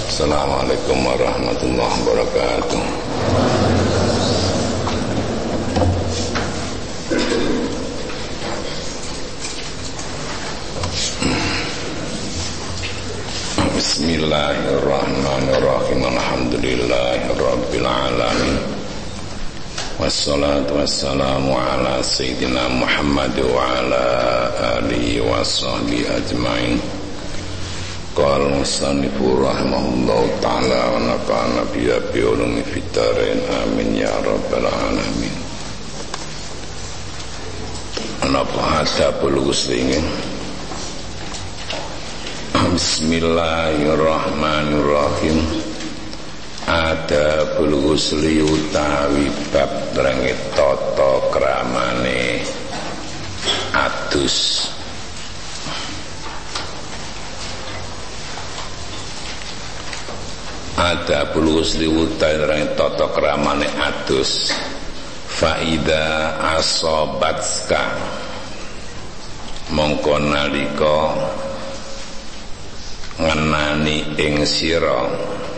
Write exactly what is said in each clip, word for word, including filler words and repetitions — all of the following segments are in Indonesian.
Assalamualaikum warahmatullahi wabarakatuh. Bismillahirrahmanirrahim. Alhamdulillahirabbil alamin. Wassalatu wassalamu ala sayyidina Muhammad wa ala alihi wa sahbihi ajmain. Qala musannifu rahimahullahu ta'ala wa nafa'ana bihi bi ulumi fid dharain amin ya rabbal alamin. Napa hadapul muslimin. Bismillahirrahmanirrahim. Adabul ghusli utawi bab rengit tata kramane adus. Adabul ghusli utawi rengit tata kramane adus. Faida asobatska mongko nalika ngenani ing sira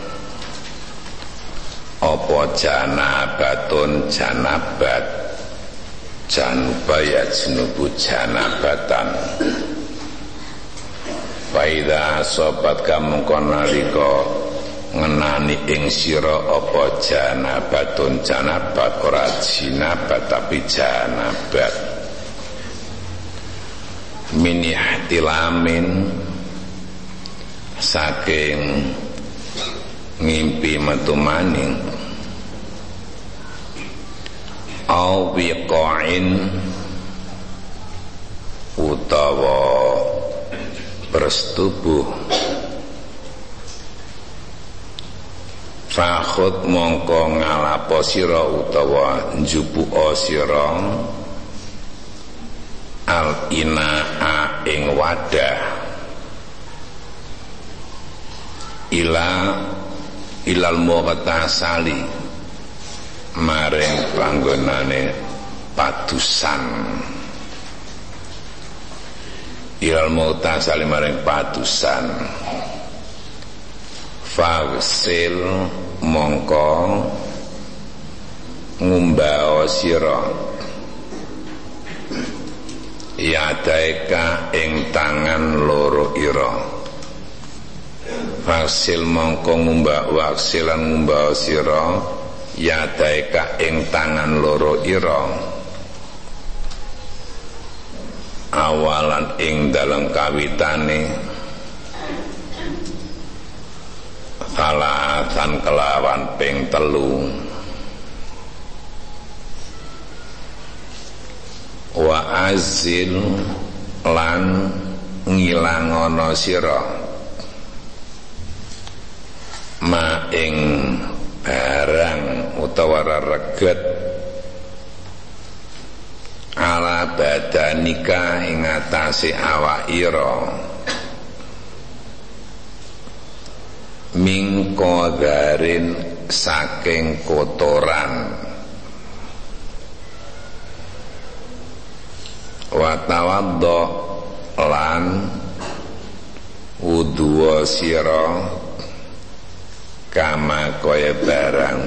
apa janabatun janabat janubaya jenubu janabatan. Faida sobat kamu konalika ngenani ing sira apa janabatun janabat, ora jinabat tapi janabat. Min ihtilamin saking ngimpi metu maning, au biqa'in utawa bersetubuh, fakhud mongko ngalapo sira utawa njupuka sira al inaa ing wadah ila ilal mughtasali maring panggonane padusan, ilal mughtasali maring padusan. Fagsil mongko ngumbao sira yadaika ing tangan loro ira. Faksil mongko ngumbah waksilan ngumbah sira yadaika ing tangan loro ira awalan ing dalam kawitane salatan kelawan ping telu. Wa azil lan ngilangono sira ma ing barang utawa reget ala badanika ing atase awak ira min qadarin saking kotoran. Wa tawaddo lan wudu sira kama kaya barang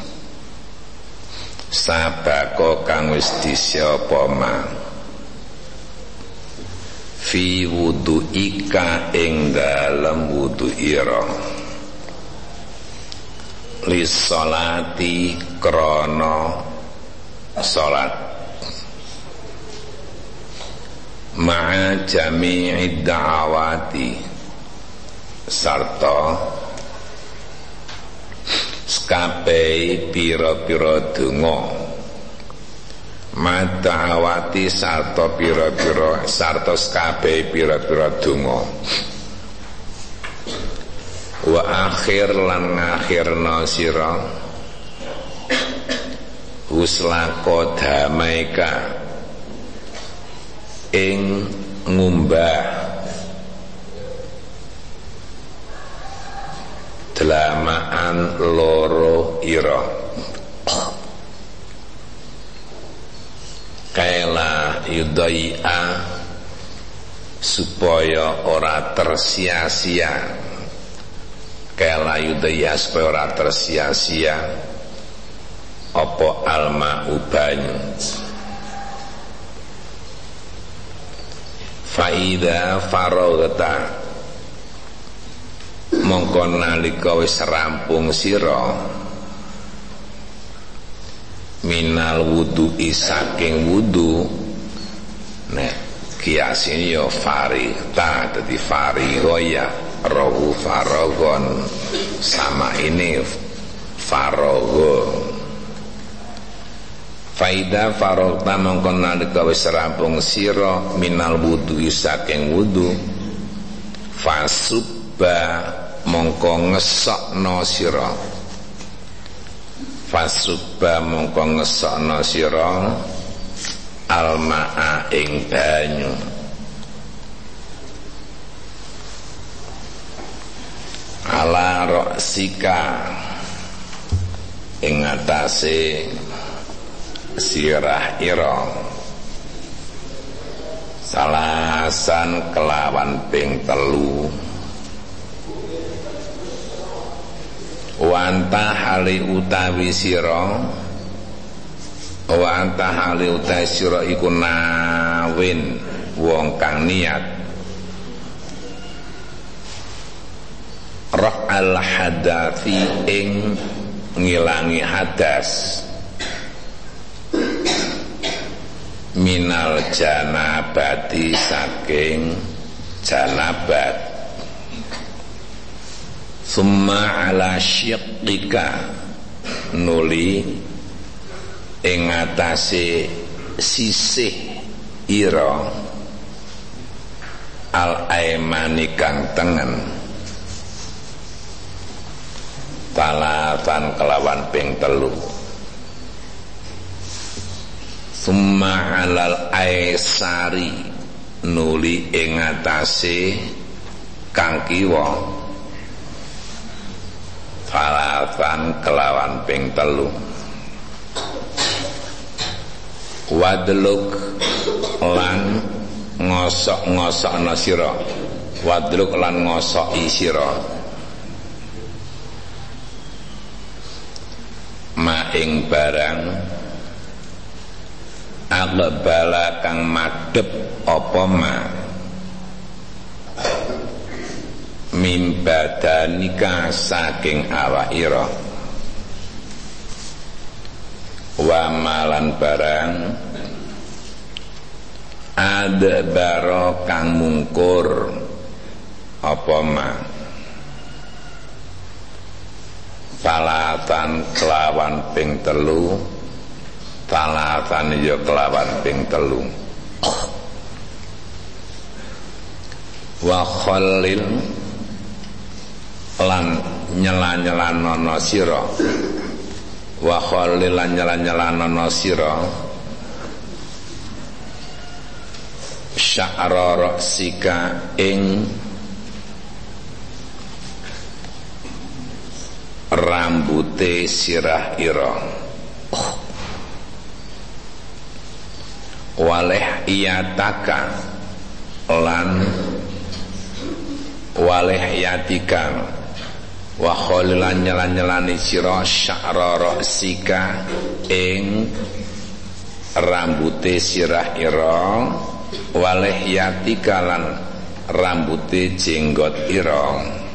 sabako kang wis disapa ma fi wudu ika ing dalem wudu ira lis salati krana salat ma'a jami'id da'awati sarta kabeh pira-pira donga madawati sarta pira-pira sarta kabeh pira-pira donga. Wa akhir lan ngakhirna sira uslako damaika ing ngumbah delamaan loro ira kaila yudai'a supaya ora tersia-sia Allah yudaya supaya ora tersia-sia apa alma banyu. Faida faragta mongko nalika wis rampung sira minal wudu'i saking wudu, nek kiasine ya farita dadi fariho ya rohu farogon sama ini farogo. Faida farogta mongko nalika wis rampung sira minal wudu'i saking wudu, fasubba mongko ngesokno sira, fasubba mongko ngesokno sira almaa ing banyu, ala roksika ing atase sirah ira, salasan kelawan ping telu, wanta hali utawi sira, wanta hali utawi sira iku nawin wong kang niat ra'al hadathi ing ngilangi hadas, minal janabati saking janabat, summa ala syiqqika nuli ing atase sisih ira al aimani kang tengen, talatan kelawan ping telu, summa alal aisari nuli ing atase kang kiwa, talatan kelawan ping telu, wadluk lan ngosok-ngosokna sira, wadluk lan ngosoki sira ma ing barang aqbala kang madhep apa ma min badanika saking awak ira, wa malan barang adbara kang mungkur apa ma, talatan kelawan ping telu, talatan ya kelawan ping telu, wa khallil lan nyela-nyelanono sira, wa khallil lan nyela-nyelanono sira sya'ra raksika ing rambute sirah ira, waleh iyataka lan waleh yatika, wa kholilan nyelan-nyelani sira sya'ra raksika ing rambute sirah ira, waleh yatika lan rambute jenggot ira,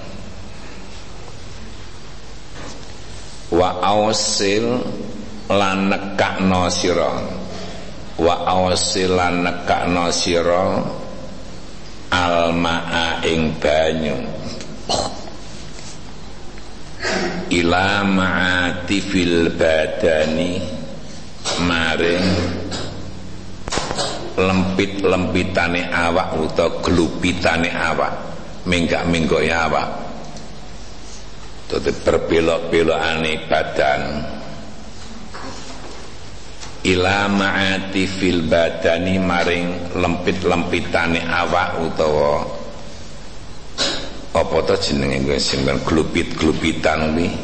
wa ausil lan nekakno sira, wa ausil lan nekakno sira almaa ing banyu ila ma'atifil badani maring lempit-lempitane awak utawa glupitane awak, minggak-minggoke awak, dadi berbelok-belokane badan, ila ma'atifil badani maring lempit-lempitane awak utawa apa to jenenge kuwi sing glupit-glupitan kuwi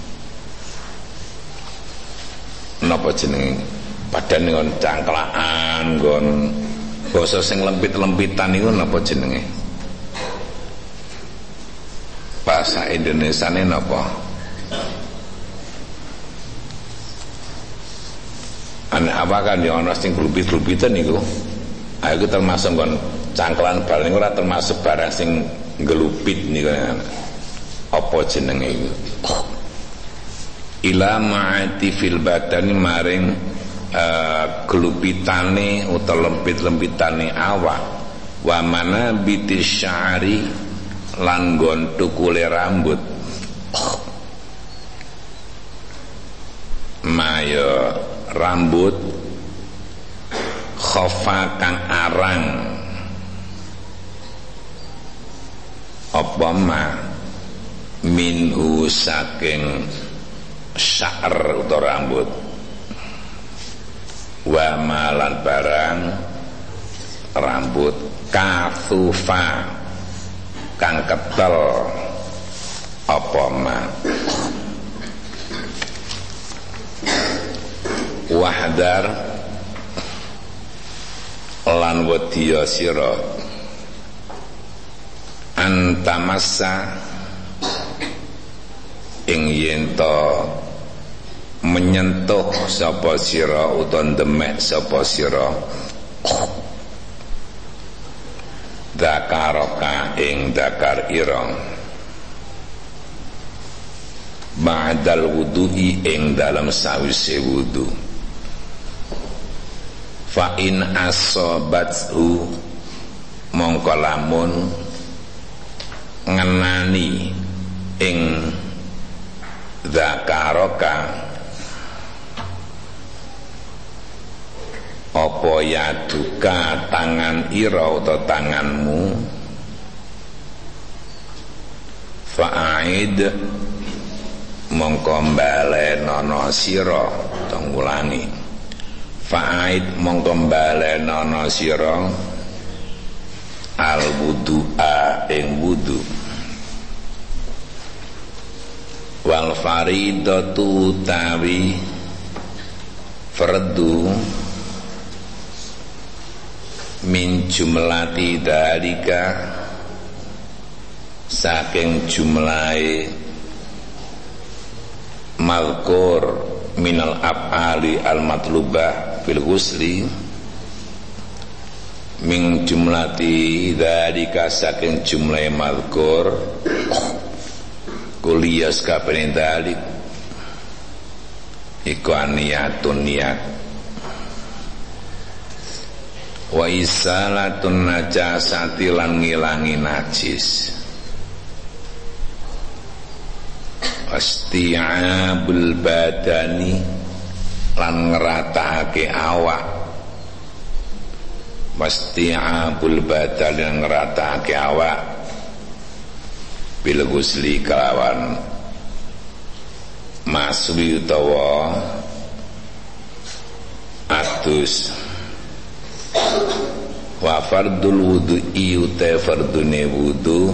napa jenenge badan ngon cangklaan nggon basa sing lempit-lempitan niku napa jenenge bahasa Indonesiane napa? Ana apa kan ya ana sing glubit-glubitan niku. Ah iku termasuk kon cangklan bal niku ora termasuk barang sing ngelupit niku. Apa jenenge iku? Ila ma'ati fil badani maring uh, glupitane utawa lempit-lempitane awak. Wa mana bitis sya'ri lan nggon tukule rambut. Mayo rambut khofa kang arang apa ma minhu saking sya'ar utawa rambut wa malan barang rambut kathufa kang ketel apa ma wahdar lan wadiya sira antamassa ing yen to menyentuh sapa sira utawa demek sapa sira dakaroka ing dakar ira ba'dal wudu'i ing dalam sawise wudu fa in asobathu mongko lamun ngenani ing zakaroka apa ya duka tangan ira atau tanganmu fa'aid mongko mbalenono sira tunggulangi fa'aid mongko mbalenono sira al wudu'a ing wudu wal faridatu tawi fardu min jumlati dalika saking jumlahe malkur minal af'ali al matlubah fil ghusli min jumlati dalika saking jumlahe malkur kuliyas kapene dalik iku aniyatun niat wa isalatun najasati lan ngilangi najis wasti'abul badani lan ngeratake awak wasti'abul badani lan ngeratake awak bil ghusli kelawan maswi utawa atus wa fardul wudu'i uta fardune wudu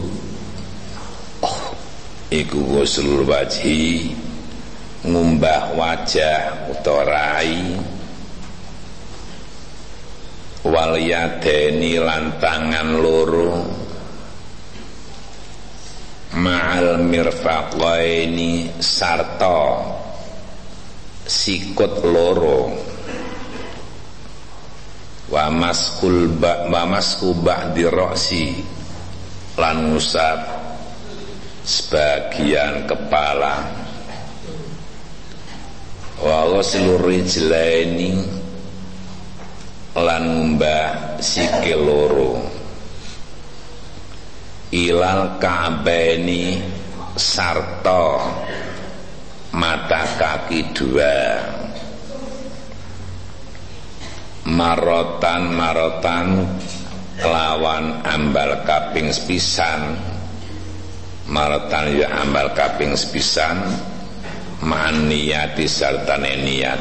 iku ghuslul wajhi ngumbah wajah utawa rai wal yadeni lan tangan loro ma'al mirfaqaini sarta sikut loro wa maskul ba wa masku ba'di ra'si lan ngusap sebagian kepala wa ghuslur rijlaini lan ngumbah sikil loro ilal ka'baini sarta mata kaki dua marotan marotan kelawan ambal kaping sepisan marotan ya ambal kaping sepisan ma'an niyati sartane niat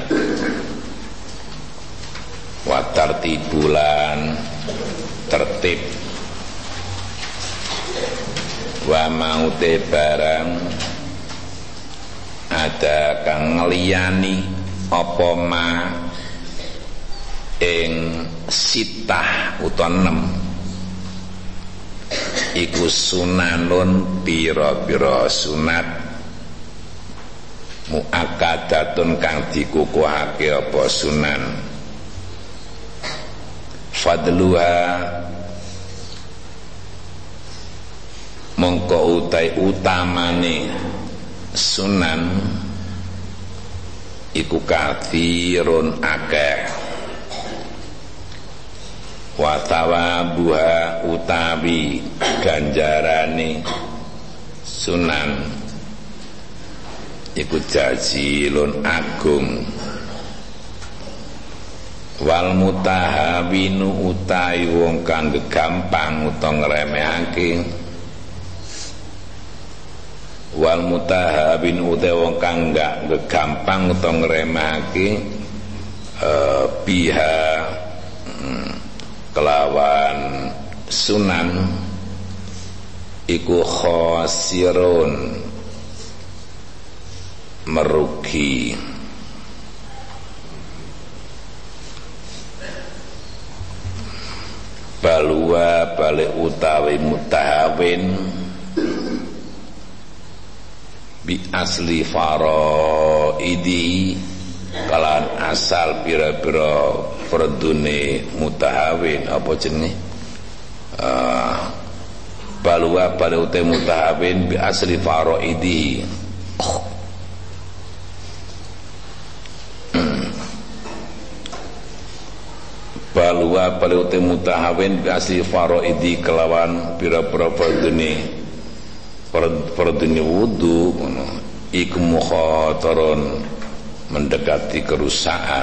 wa tartibulan tertib wa maute barang ada kang ngliyani apa ma ing sitah utawa enam iku sunanun pira-pira sunat muakkadatun kang dikukuhake apa sunan. Fadluha mongko utai utamane sunan iku kathirun akeh. Wa thawabuha utawi ganjarane sunan iku jazilun agung. Wal mutahawinu utai wong kang gampang utawa ngremehake. Wal mutahabin utai wong kang gak gampang utawa ngremehake uh, biha hmm, kelawan sunan iku khosirun merugi. Balwa balik utawi mutahawin bi asli faraidi kalan asal pira-pira fardune mutahawin apa jenenge uh, balwa balik utawi mutahawin bi asli faraidi oh. Balwa palute mutahawin bi asli faraidi kelawan pira-pira fardune fardune wudu ngono iku mukhatarun mendekati kerusakan.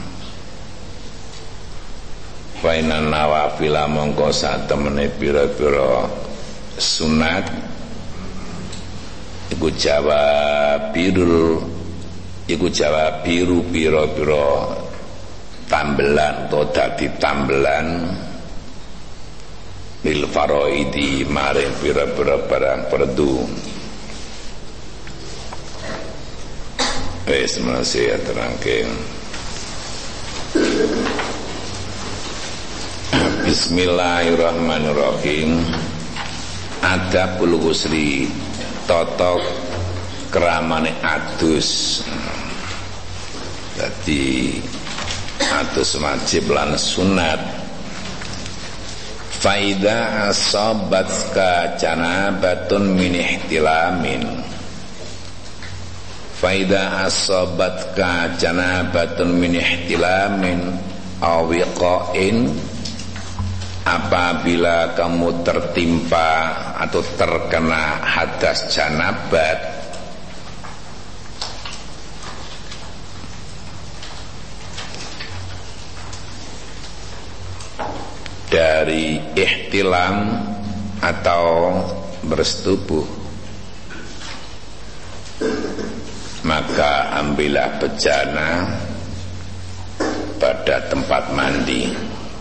Fainan nawafil mongko satemene pira-pira sunat iku jawab birul iku jawab biru pira-pira tambelan atau dadi tambelan lil faraidi maring pira-pira barang perdu. Wis masih terangke. Bismillahirrahmanirrahim. Adabul ghusli tata keramane adus. Dadi atus wajib lan sunat. Faida asabatka janabatun min ihtilamin. Faida asabatka janabatun min ihtilamin awiqain, apabila kamu tertimpa atau terkena hadas janabat dari ihtilam atau bersetubuh, maka ambillah bejana pada tempat mandi.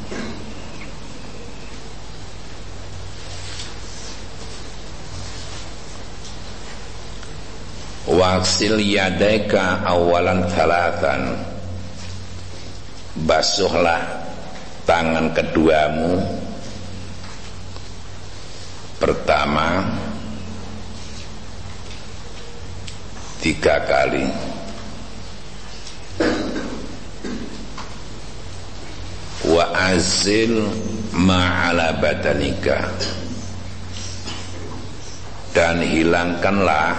Waksil yadaika awalan thalathan, basuhlah tangan keduamu pertama tiga kali. Wa azil ma'ala badanika, dan hilangkanlah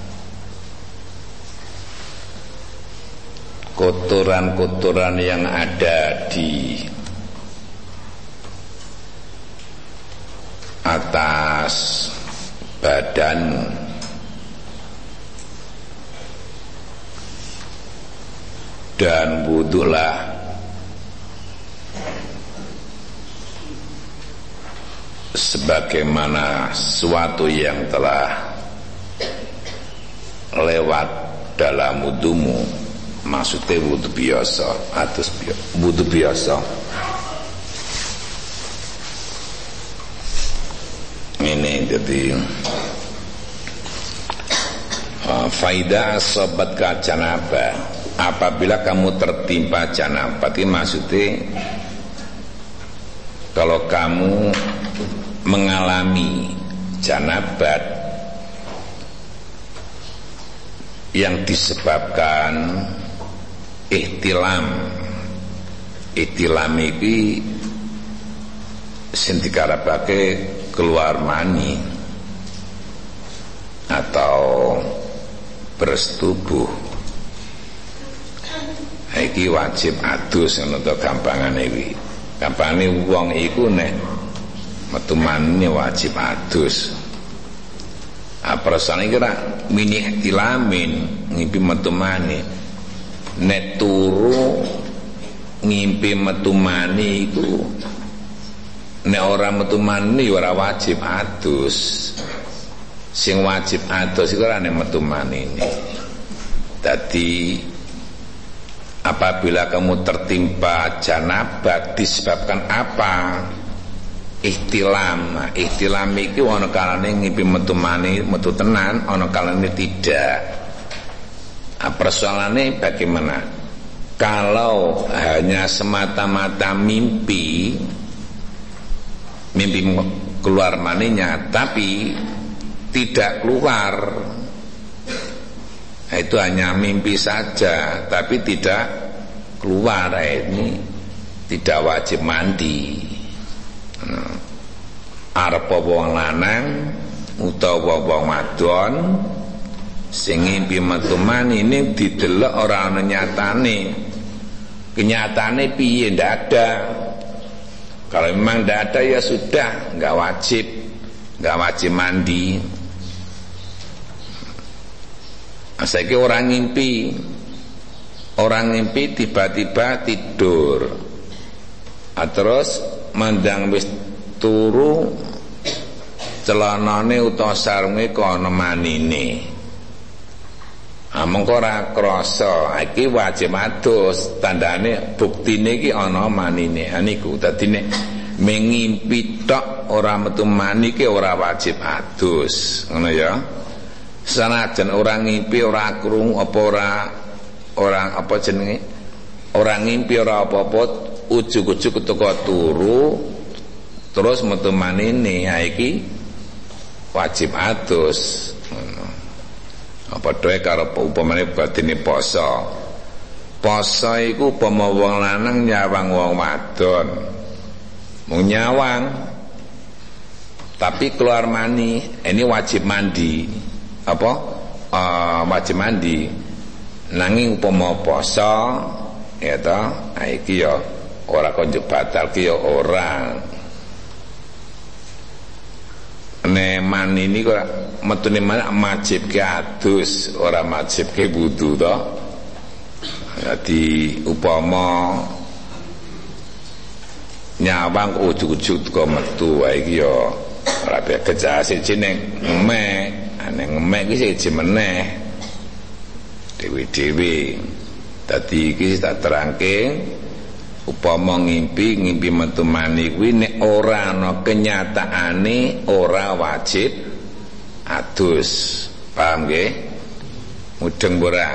kotoran-kotoran yang ada di atas badanmu. Dan wudulah sebagaimana suatu yang telah lewat dalam wudumu. Maksudnya wudu biasa, atus wudu biasa. Ini jadi uh, faida sobat janabah, apabila kamu tertimpa janabah, itu maksudnya kalau kamu mengalami janabat yang disebabkan ihtilam. Ihtilam iki sing dikarepake keluar mani atau bersetubuh. Iki wajib adus ngono to gampangane iki. Gampangane wong iku nek metu mani wajib adus. Aprasane kira mini ihtilamin ngimpi metu mani. Nek turu ngimpi metu mani iku nek ora metu mani ora wajib adus. Sing wajib adus iku ora nek metu mani ini. Dadi apabila kamu tertimpa janabat disebabkan apa? Ihtilam. Nah, ihtilam iki ana kalane ngimpi metu mani metu tenan, ana kalane tidak. Nah, persoalannya bagaimana? Kalau hanya semata-mata mimpi, mimpi keluar maninya, tapi tidak keluar, nah, itu hanya mimpi saja, tapi tidak keluar, nah, ini tidak wajib mandi. Nah, arep wong lanang utawa wong wadon sing ngimpi metu mani ini didelok ora ana nyatane. Kenyataannya piye? Ndak ada. Kalau memang ndak ada ya sudah, nggak wajib, nggak wajib mandi. Saiki orang ngimpi, orang ngimpi tiba-tiba tidur, ah, terus mandang wis turu celanane utawa sarunge kok ana manine. Ah, mengko ora krasa, iki wajib adus, tandane buktine iki ana manine. Ha niku dadi nek mengimpi tok ora metu mani iki ora wajib adus, ngono ya. Sanajan orang ngimpi ora krungu apa ora orang apa jenenge? Orang ngimpi ora apa-apa, ujug-ujug teko turu terus metu manine, ha iki wajib adus. Apa doe karo upamane badine poso. Poso iku upama wong lanang nyawang wong wadon. Mung nyawang tapi keluar mani, ini wajib mandi. Apa? Uh, wajib mandi. Nanging upama poso ya ta, iki ya ora konjuk batal ki ya ora. Nek mani ini kok metune mana wajib ke adus, ora wajib ke wudu to. Jadi upama nyawang ujug-ujug kok metu wae iki ya ora bisa kerja siji ning ngemek, nek ngemek iki siji meneh dewi-dewi. Dadi iki tak terangke upama ngimpi ngimpi metu mani kuwi nek ora ana kenyataane ora wajib adus. Paham nggih? Mudeng ora?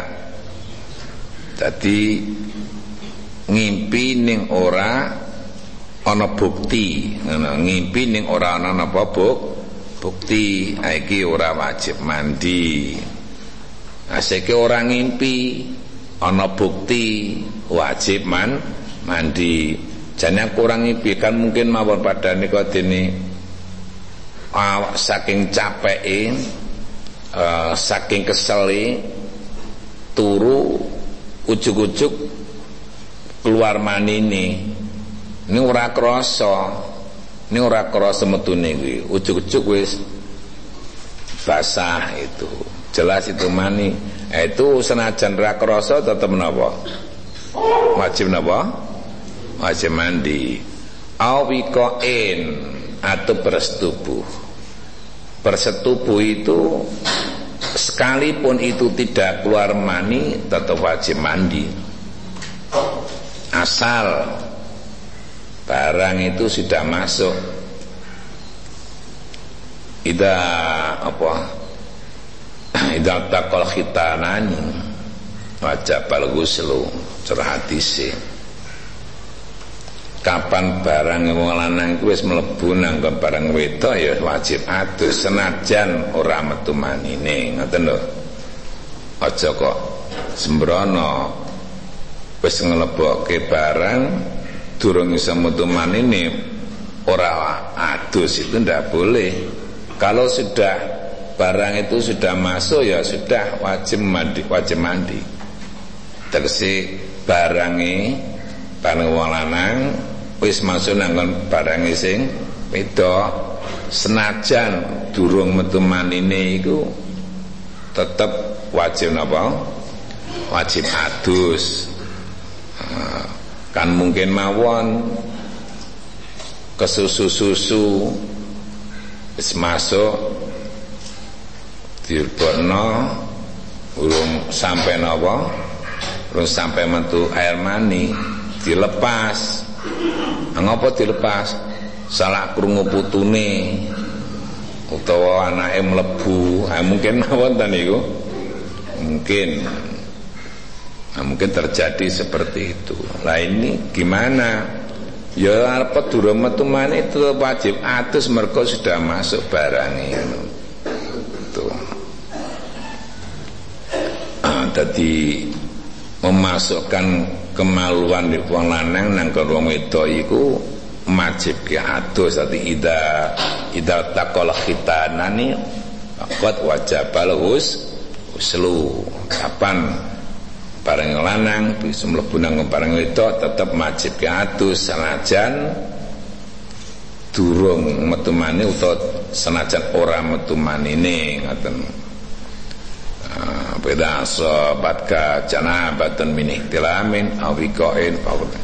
Dadi ngimpi ning ora ana bukti, ngono. Ngimpi ning ora ana napa bukti, iki ora wajib mandi. Asike ora ngimpi ana bukti wajib man mandi. Jane kurang ngimpi kan mungkin mawon padane kok dene awak saking capeke, uh, saking kesele turu ujug-ujug keluar manine. Ini ora krasa. Ini ora krasa metune kuwi. Ujug-ujug wis basah itu. Jelas itu mani. Eh, itu senajan ra krasa tetep napa? Wajib napa? Wajib mandi. Awikoin atau bersetubuh. Bersetubuh itu sekalipun itu tidak keluar mani tetap wajib mandi. Asal barang itu sudah masuk. Ida apa? Ida takol khitanani wajib al ghuslu, cerah hadis. kapan barang wong lanang kuwi wis mlebu nang barang wedok ya wajib adus senajan ora metu manine, ngoten lho. Aja kok sembrono wis nglebokke barang durung iso metu manine ora adus, itu ndak boleh. Kalau sudah barang itu sudah masuk ya sudah wajib mandi, wajib mandi. Tegese barange barang wong lanang wis masuk nang barang sing wedok senajan durung metu manine iku tetep wajib napa? Wajib adus. Kan mungkin mawon kesusu-susu wis masuk dilebokno urung sampai napa? Urung sampai metu air mani dilepas. Ngapa dilepas? Salah krungu putune utawa anake mlebu. Ha mungkin mawon ta niku. Mungkin. Nah, mungkin terjadi seperti itu. Lah ini gimana? Ya arep durung metu maneh itu wajib adus mergo sudah masuk barangnya. Tuh. Ah, tadi memasukkan kemaluan di wong lanang nang wong wedok iku wajib ke adus. Dadi ida ida taqal khitanani faqad wajabal hus uslu. Kapan barang lanang bisa mlebu nang barang wedok tetep wajib ke adus senajan durung metu maneh utawa senajan ora metu manine, ngoten. Beda sobat ka janabatan min ihtilamin awikoin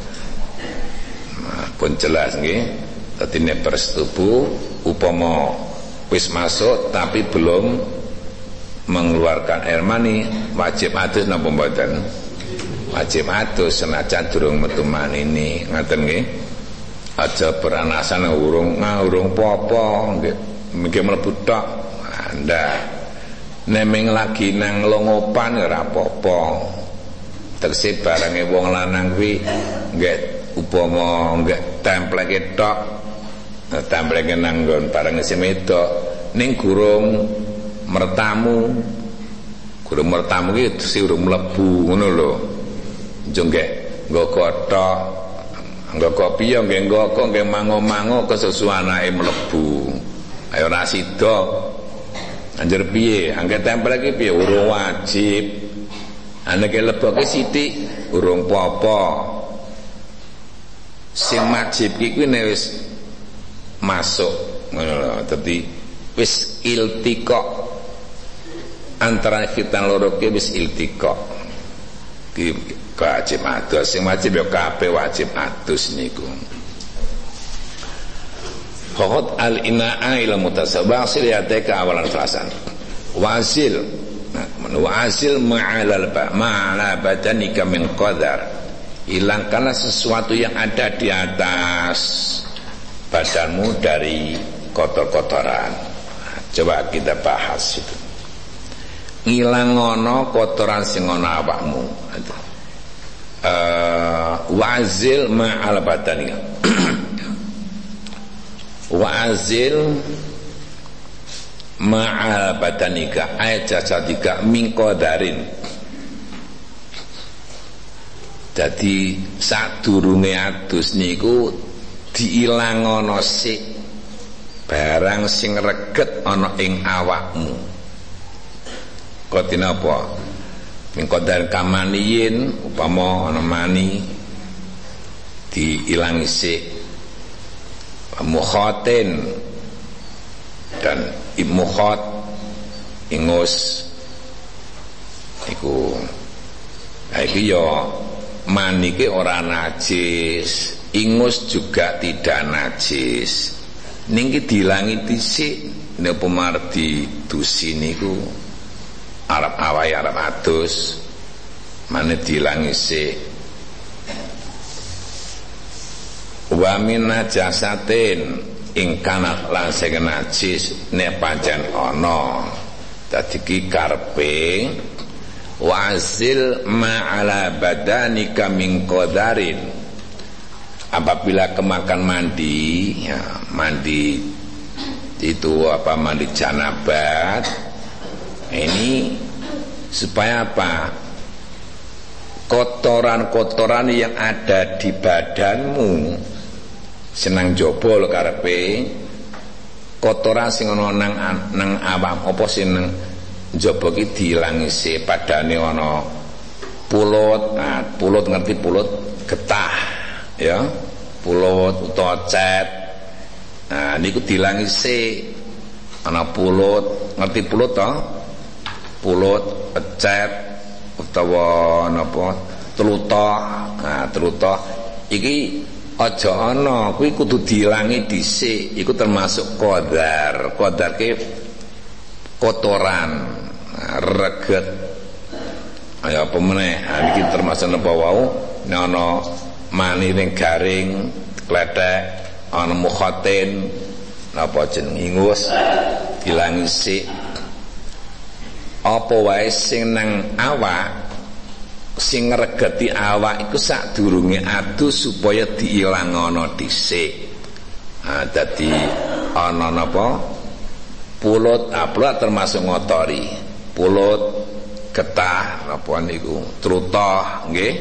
nah, pun jelas nggih. Dadi nek persetubuh upama wis masuk tapi belum mengeluarkan air mani wajib adus napa mboten? Wajib adus senajan durung metu manine, ngoten nggih. Aja beranasan urung urung apa-apa nggih mengke mlebu tok. Anda nemeng lagi nang longopan ora apa-apa. Tegese barange wong lanang kuwi nggih upama nggih templeke tok, templeke nang nggon barang sing wedok ning gurung mertamu. Gurung mertamu kuwi sing urung mlebu ngono lho. Njo nggih nggo kothok, nggo kopi ya nggih nggo kok nggih mango-mango kesusu anake mlebu. Ayo ora sida. Anjir piye? Angge tempel iki piye? Urung wajib. Anake leboke sithik urung apa-apa. Sing wajib iki kuwi nek wis masuk ngono lho. Dadi wis iltiqa antara khitan loro ki wis iltiqa. Ki wajib adus. Sing wajib ya kabeh wajib adus niku. Khot al-ina'a ila mutasabasil yateka awalan falasan wasil wasil ma'alal ma'ala badanika min qadar. Hilangkanlah sesuatu yang ada di atas badanmu dari kotor-kotoran. Coba kita bahas itu. Ngilangono kotoran sing ana awakmu. Uh, wazil ma'al badanika wa'azil ma'al badanika ayat jasadika min qadarin. Jadi sadurunge adus niku diilangono sik barang sing reget ana ing awakmu. Kok dinapa? Min qadar kamaniyin upama ana mani diilangi sik. Mukhatin dan imukhat ingus iku iki ya manike ora najis, ingus juga tidak najis. Niki dilangi dhisik nek pemar didusi niku arep awake arep adus mane dilangi sik. Wa min najasatin ing kana lan sing najis nek pancen ana. Dadi ki karepe wazil ma'ala badanika min qadarin. apabila kemakan mandi, ya, mandi itu apa, mandi janabat, ini supaya apa? Kotoran-kotoran yang ada di badanmu senang jobol karepe, kotoran sing ana nang nang awak apa sing nang njaba ki diilangi se, padane ana pulut. Nah, pulut ngerti pulut, getah ya, pulut utawa cet. Nah niku diilangi se, ana pulut, ngerti pulut to? Pulut, cet utawa napa tlutoh. Nah tlutoh iki aja ana, kuwi kudu diilangi dhisik. Iku termasuk qadar. Qadar ki kotoran, reget, ayo apa meneh. Iki termasuk napa wau, nek ana mani ning garing klethek, ana mukhatin napa jeneng ingus, diilangi sik. Apa wae sing nang awak, sing ngregeti awak iku sadurunge adus supaya diilangana dhisik. Ah dadi ana napa? Pulut, ah pulut termasuk ngotori. Pulut, getah napa niku, trutoh nggih.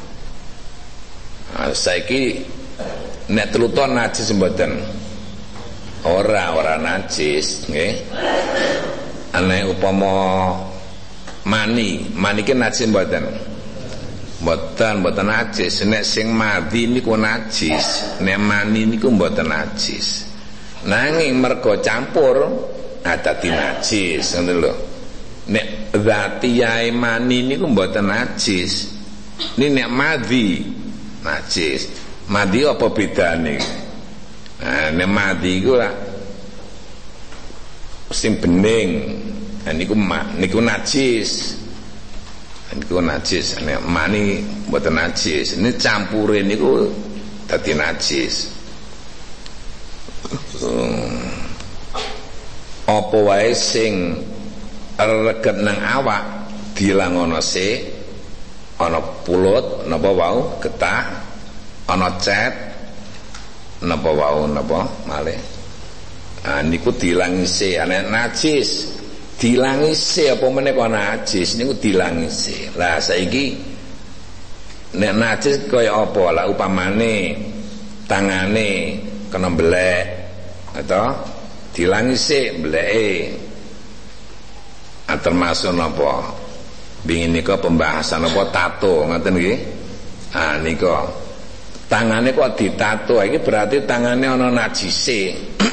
Ah saiki nek trutoh najis mboten? Ora, ora najis nggih. Ane upama mani, mani ki najis mboten? Mboten, mboten najis. Nek sing madhi niku najis, nek mani niku mboten najis. Nanging mergo campur dadi najis, ngoten lho. Nek zatiyae mani niku mboten najis. Ini nek madhi najis. Madhi apa bedane? Nah, nek madhi iku sing bening, nah, niku niku najis, niku najis. Nek mani mboten najis. Ini campure niku dadi najis. Hmm. Apa wae sing reget nang awak diilangono sik, ana pulut napa wau, getah, ana cet napa wau napa malih. Ah niku diilangi se, ana najis diilangi se, apa meneh kok najis niku diilangi se. Lah saiki nek najis kaya apa? Lah upamane tangane kena belek atau diilangi se bleke. Ah termasuk napa? Bingin nika pembahasan apa tato ngoten nggih. Ah nika tangane kok ditato, iki berarti tangane ana najise.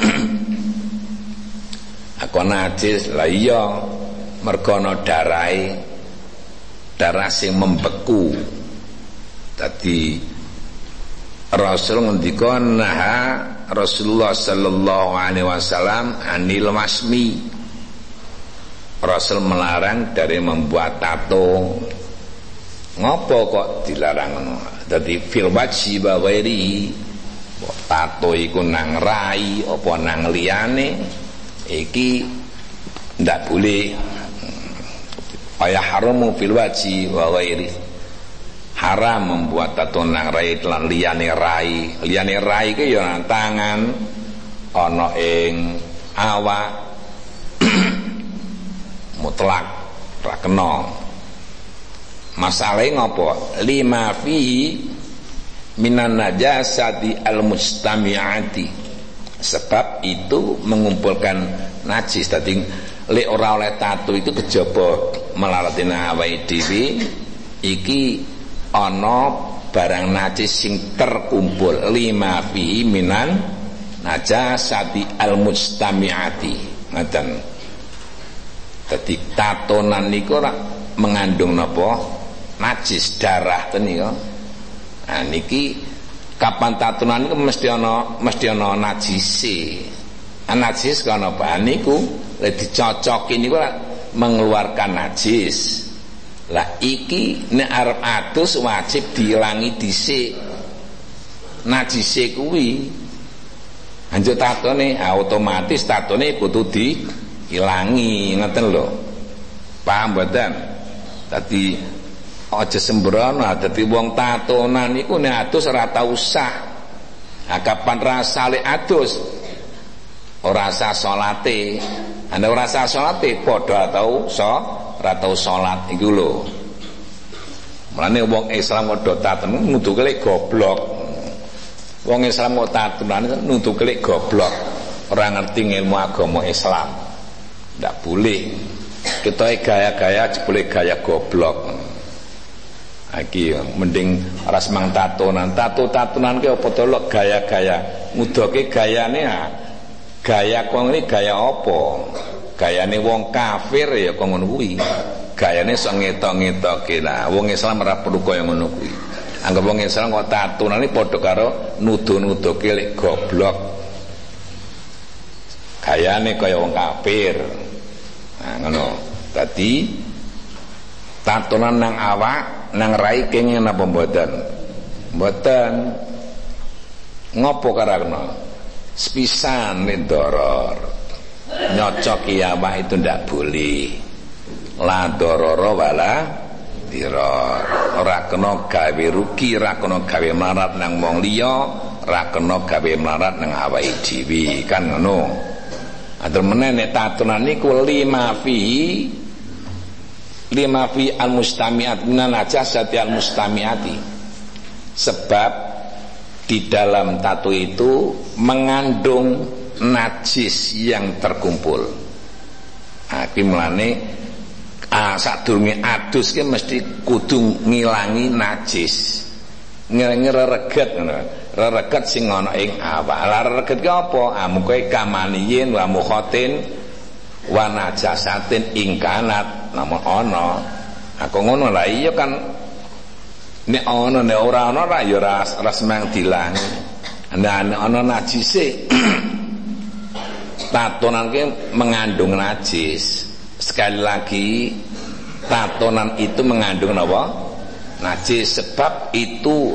Aku najis, lah iya mergo ana darahe, darah sing membeku. Dadi Rasul ngendika naha Rasulullah sallallahu alaihi wasallam anil wasmi. Rasul melarang dari membuat tato. Ngopo kok dilarang ngono? Dadi fil wajhi wa ghairi. Tato iku nang rai apa nang liyane iki ndak boleh. Ayah haramu fil wajhi wa ghairi. Haram membuat tato nang rai lan liyane rai. Liyane rai iki ya tangan, ana ing awak, mutlak ra kena. Masalahe ngopo? Lima fi minan najasati al-mustami'ati. Sebab itu mengumpulkan najis. Dadi lek ora oleh tato itu kejaba melaratina awake dhewe iki ana barang najis sing terkumpul. Lima fi minan najasati al-mustami'ati. Ngoten. Dadi tatonan niku ora mengandung napa? Najis darah ten niku. Nah niki kapan tatonan niku mesti ana mesti ana najise. Najis kana apa niku lek dicocoki niku mengeluarkan najis. Lah iki nek arep adus wajib diilangi dhisik najise kuwi. Anjuk tatone otomatis tatone kudu diilangi, ngoten lho. Paham mboten? Dadi aja sembrono, dadi wong tatonan iku nek adus ora tau usah Nah, kapan rasale adus ora sah salate. Ana ora sah salate padha atau so ora tau salat iku lho. Mulane wong Islam padha taten nuduhke lek goblok. Wong Islam kok tatunan nuduhke lek goblok. Ora ngerti ilmu agama Islam. Ndak boleh. Kita gaya-gaya boleh gaya goblok. Iki mending ora semang tatonan. Tato-tatonan ki apa to gaya-gaya. Ngudoke gayane ah. Gaya kok ngene gaya apa? Gayane wong kafir ya kok ngono kuwi. Gayane sok ngetok-ngetoke. Lah wong Islam ora perlu kaya ngono kuwi. Anggap wong Islam kok tatonane padha karo nuduh-nuduhke lek goblok. Gayane kaya wong kafir. Nah ngono. Dadi tatonan nang awak, nang rai kenging napa mboten? Mboten. Ngopo karana? Sepisan doror. Nyocoki awak itu ndak boleh. La dororo wala diror. Ora kena gawe rugi, ora kena gawe melarat nang wong liya, ora kena gawe melarat nang awake dhewe, kan ngono. Atur meneh nek tatonan niku lima fi lima fi al-mustami'at minan najasati al-mustami'ati. Sebab di dalam tato itu mengandung najis yang terkumpul. Nah, iki mulane ah, sadurunge adus ki mesti kudu ngilangi najis. Ngilangi rereget ngono. Rereget sing ana ing awak. Lah rereget ki apa? Ah mukoe kamaniyin wa mukhatin wa najasatin ingkanat namun ana. Aku ngono lah iya kan nek ana nek ora ana ra ya ora semang dilangi. Nek ana najise tatonan ki mengandung najis. Sekali lagi tatonan itu mengandung apa? Najis, sebab itu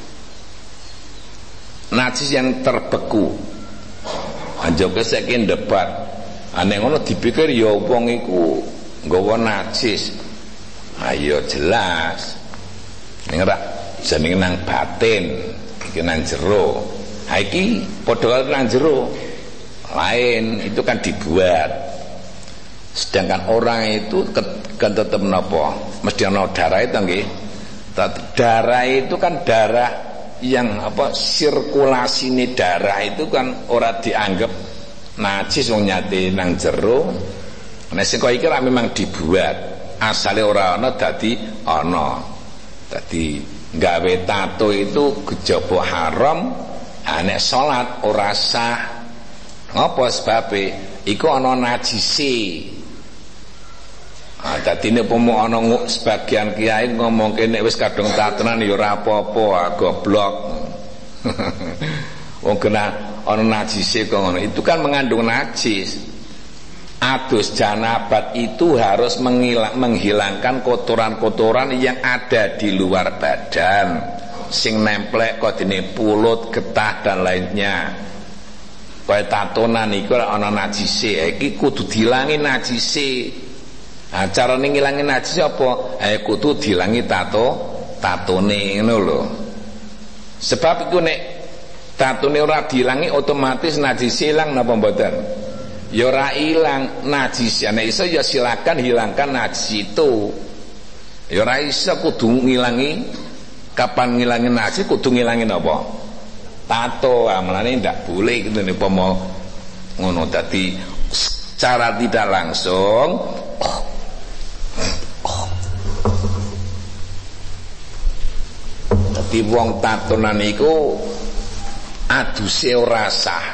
najis yang terbeku. Anjoke saiki debat. Ane ngono dipikir ya wong iku nggawa najis. Ayo jelas. Ning ora jenenge nang batin, iki nang jero. Ha iki padha karo nang jero. Lain itu kan dibuat. Sedangkan orang itu kan tetap menapa? Mesti ana darah itu nggih. Darah itu kan darah yang apa sirkulasi darah itu kan ora dianggap najis wong nyate nang jero. Nek sing kok iki memang dibuat. Asale ora ana dadi ana. Dadi gawe tato itu kejaba haram. Ha nek salat ora sah. Apa sebabe? Iku ana najise. Ah dadi nek pomo ana sebagian kiai ngomongke nek wis kadung tatonan ya ora apa-apa, goblok. Wong kena ana najise kok ngono. Itu kan mengandung najis. Adus janabat itu harus mengilang, menghilangkan kotoran-kotoran yang ada di luar badan, sing nemplek kok dene pulut, getah dan lainnya. Kaya tatonan iku ana najise, iki kudu dilangi najise. Nah, carane ngilangi najis apa? Eh kudu dilangi tato, tatone ngono lho. Sebab iku nek tatone ora dilangi otomatis najis ilang napa mboten? Ya ora ilang najis. Nek iso ya silakan hilangkan najis itu. Ya ora iso kudu ngilangi. Kapan ngilangi najis kudu ngilangi napa? Tato. Ah melane ndak boleh gitu nek pomo ngono. Dadi secara tidak langsung oh, dadi wong tatonan iku aduse ora sah.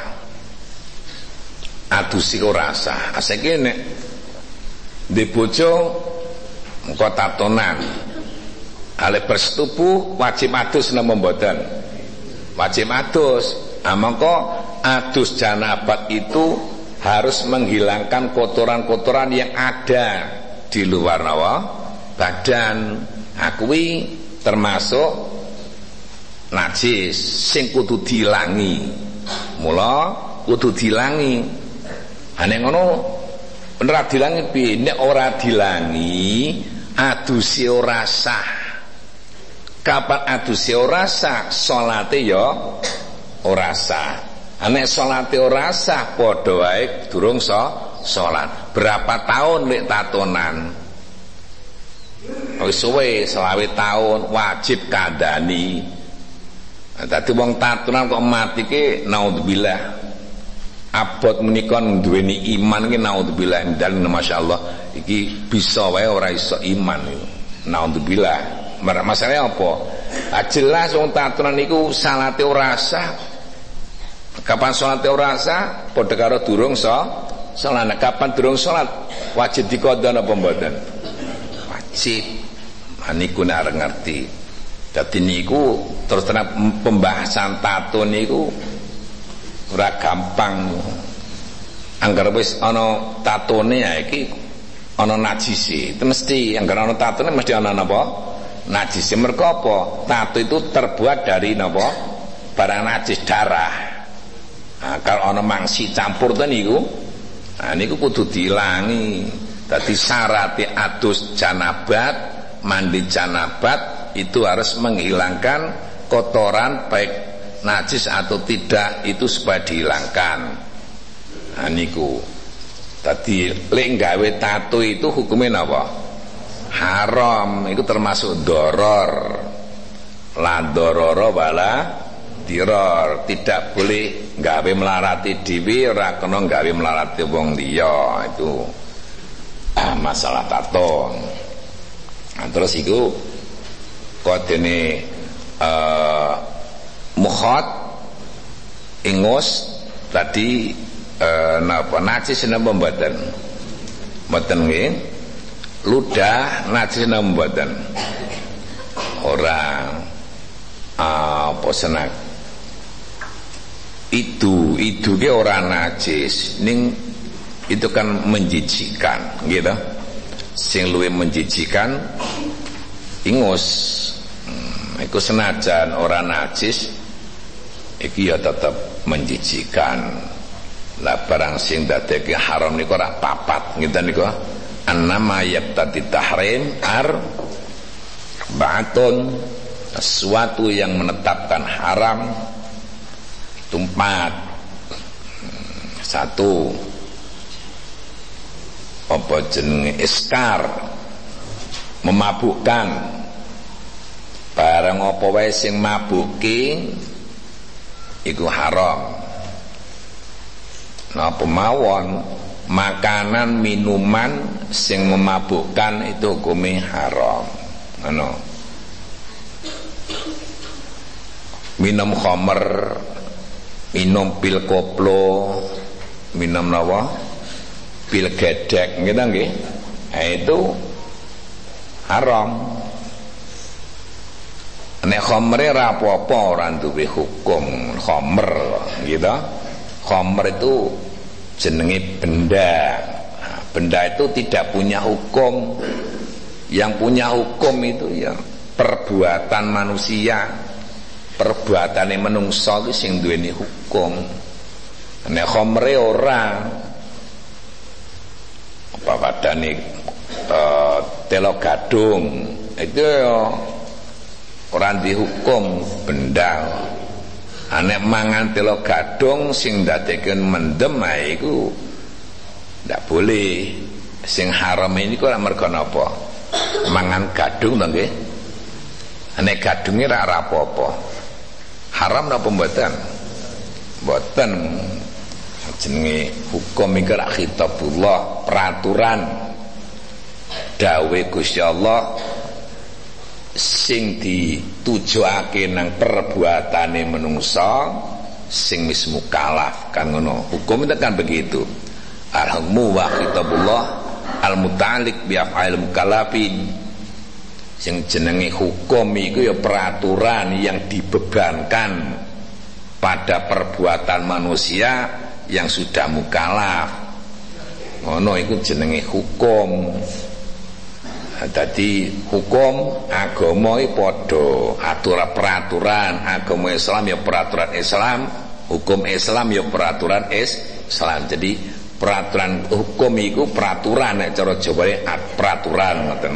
Aduse ora sah. Asake nek ndek bojo engko tatonan. Ale bersetubuh wajib adus napa mboten? Wajib adus. Ah mongko adus janabat itu harus menghilangkan kotoran-kotoran yang ada di luar nawa badan. Akui termasuk najis sing kudu dilangi. Mula kudu dilangi. Ane ngono bener dilangi piye? Nek ora dilangi aduse ora sah. Kapan aduse ora sah salate ya ora sah. Nek salate ora sah padha wae durung so salat. Berapa tahun lek tatonan? Wis suwe selawe tahun wajib kandhani. Nah, dadi wong tatonan kok mati ki naudzubillah. Abot menika duweni iman ki naudzubillah dan masyaallah iki bisa wae ora iso iman iki. Naudzubillah. Masalahnya apa? Ah, jelas wong tatonan niku salate ora sah. Kapan salate ora sah? Padha karo durung so salat. Kapan durung salat? Wajib diqadha napa mboten? Wajib. Niku nek arep ngerti. Dadi niku terus terang pembahasan tato niku ora gampang. Angger wis ana tatone ya iki ana najise. Itu mesti angger ana tatone mesti ana napa? Najise. Mergo apa? Tato itu terbuat dari napa? Barang najis, darah. Nah, kalau ana mangsi campur to niku, nah niku kudu diilangi. Dadi syarat adus janabat, mandi janabat itu harus menghilangkan kotoran baik najis atau tidak itu supaya dihilangkan. Nah niku. Tadi lek gawe tato itu hukumnya apa? Haram. Itu termasuk doror. La dororo wala diror. Tidak boleh gawe melarati dhewe, ora kena gawe melarati wong liya. Itu ah, masalah tato. Nah, terus itu kodene uh, mukhat ingus tadi uh, napa najis napa mboten? Mboten nggih. Ludah najis napa mboten? Ora uh, apa senak. Itu itu ge ora najis, ning itu kan menjijikan, gitu. Sing luwih menjijikan ingus. Hmm, iku senajan ora najis iki ya tetep menjijikan. Lah barang sing dadeke haram niku ora papat ngeten niku. Annama yaqtadi tahrim ar ba'atun, sesuatu yang menetapkan haram itu empat. Satu, apa jenenge iskar, memabukkan. Barang apa wae sing mabuki iku haram. Napa mawon makanan minuman sing memabukkan itu hukumnya haram. Ngono. Minum khamr, minum pil koplo, minum nawa pil gedek gitu nggih. Nah, itu haram. Nek khamre ra apa-apa ora duwe hukum khamr gitu. Khamr itu jenenge benda. Nah, benda itu tidak punya hukum. Yang punya hukum itu ya perbuatan manusia. Perbuatane menungso iki sing duweni hukum. Nek khamre ora apa padane uh, telo gadung itu ya ora dihukum benda. Nek mangan telo gadung sing ndadekeun mendem ae iku ndak boleh. Sing haram ini kok mergo napa? Mangan gadung to nggih. Nek gadunge ra apa-apa. Haram napa mboten? Mboten. Jenenge hukum iki ra khitabullah, peraturan dawuh Gusti Allah sing ditujuake nang perbuatane menungsa sing wis mukallaf kan ngono. Hukum itu kan begitu. Al-hukmu wa khitabullah al-muta'alliq bi af'al mukallafin. Sing jenenge hukum iku ya peraturan yang dibebankan pada perbuatan manusia yang sudah mukallaf. Ngono iku jenenge hukum. Dadi hukum agama iki padha, aturan peraturan agama Islam ya peraturan Islam, hukum Islam ya peraturan Islam. Jadi peraturan hukum iku peraturan nek cara Jawane peraturan ngoten.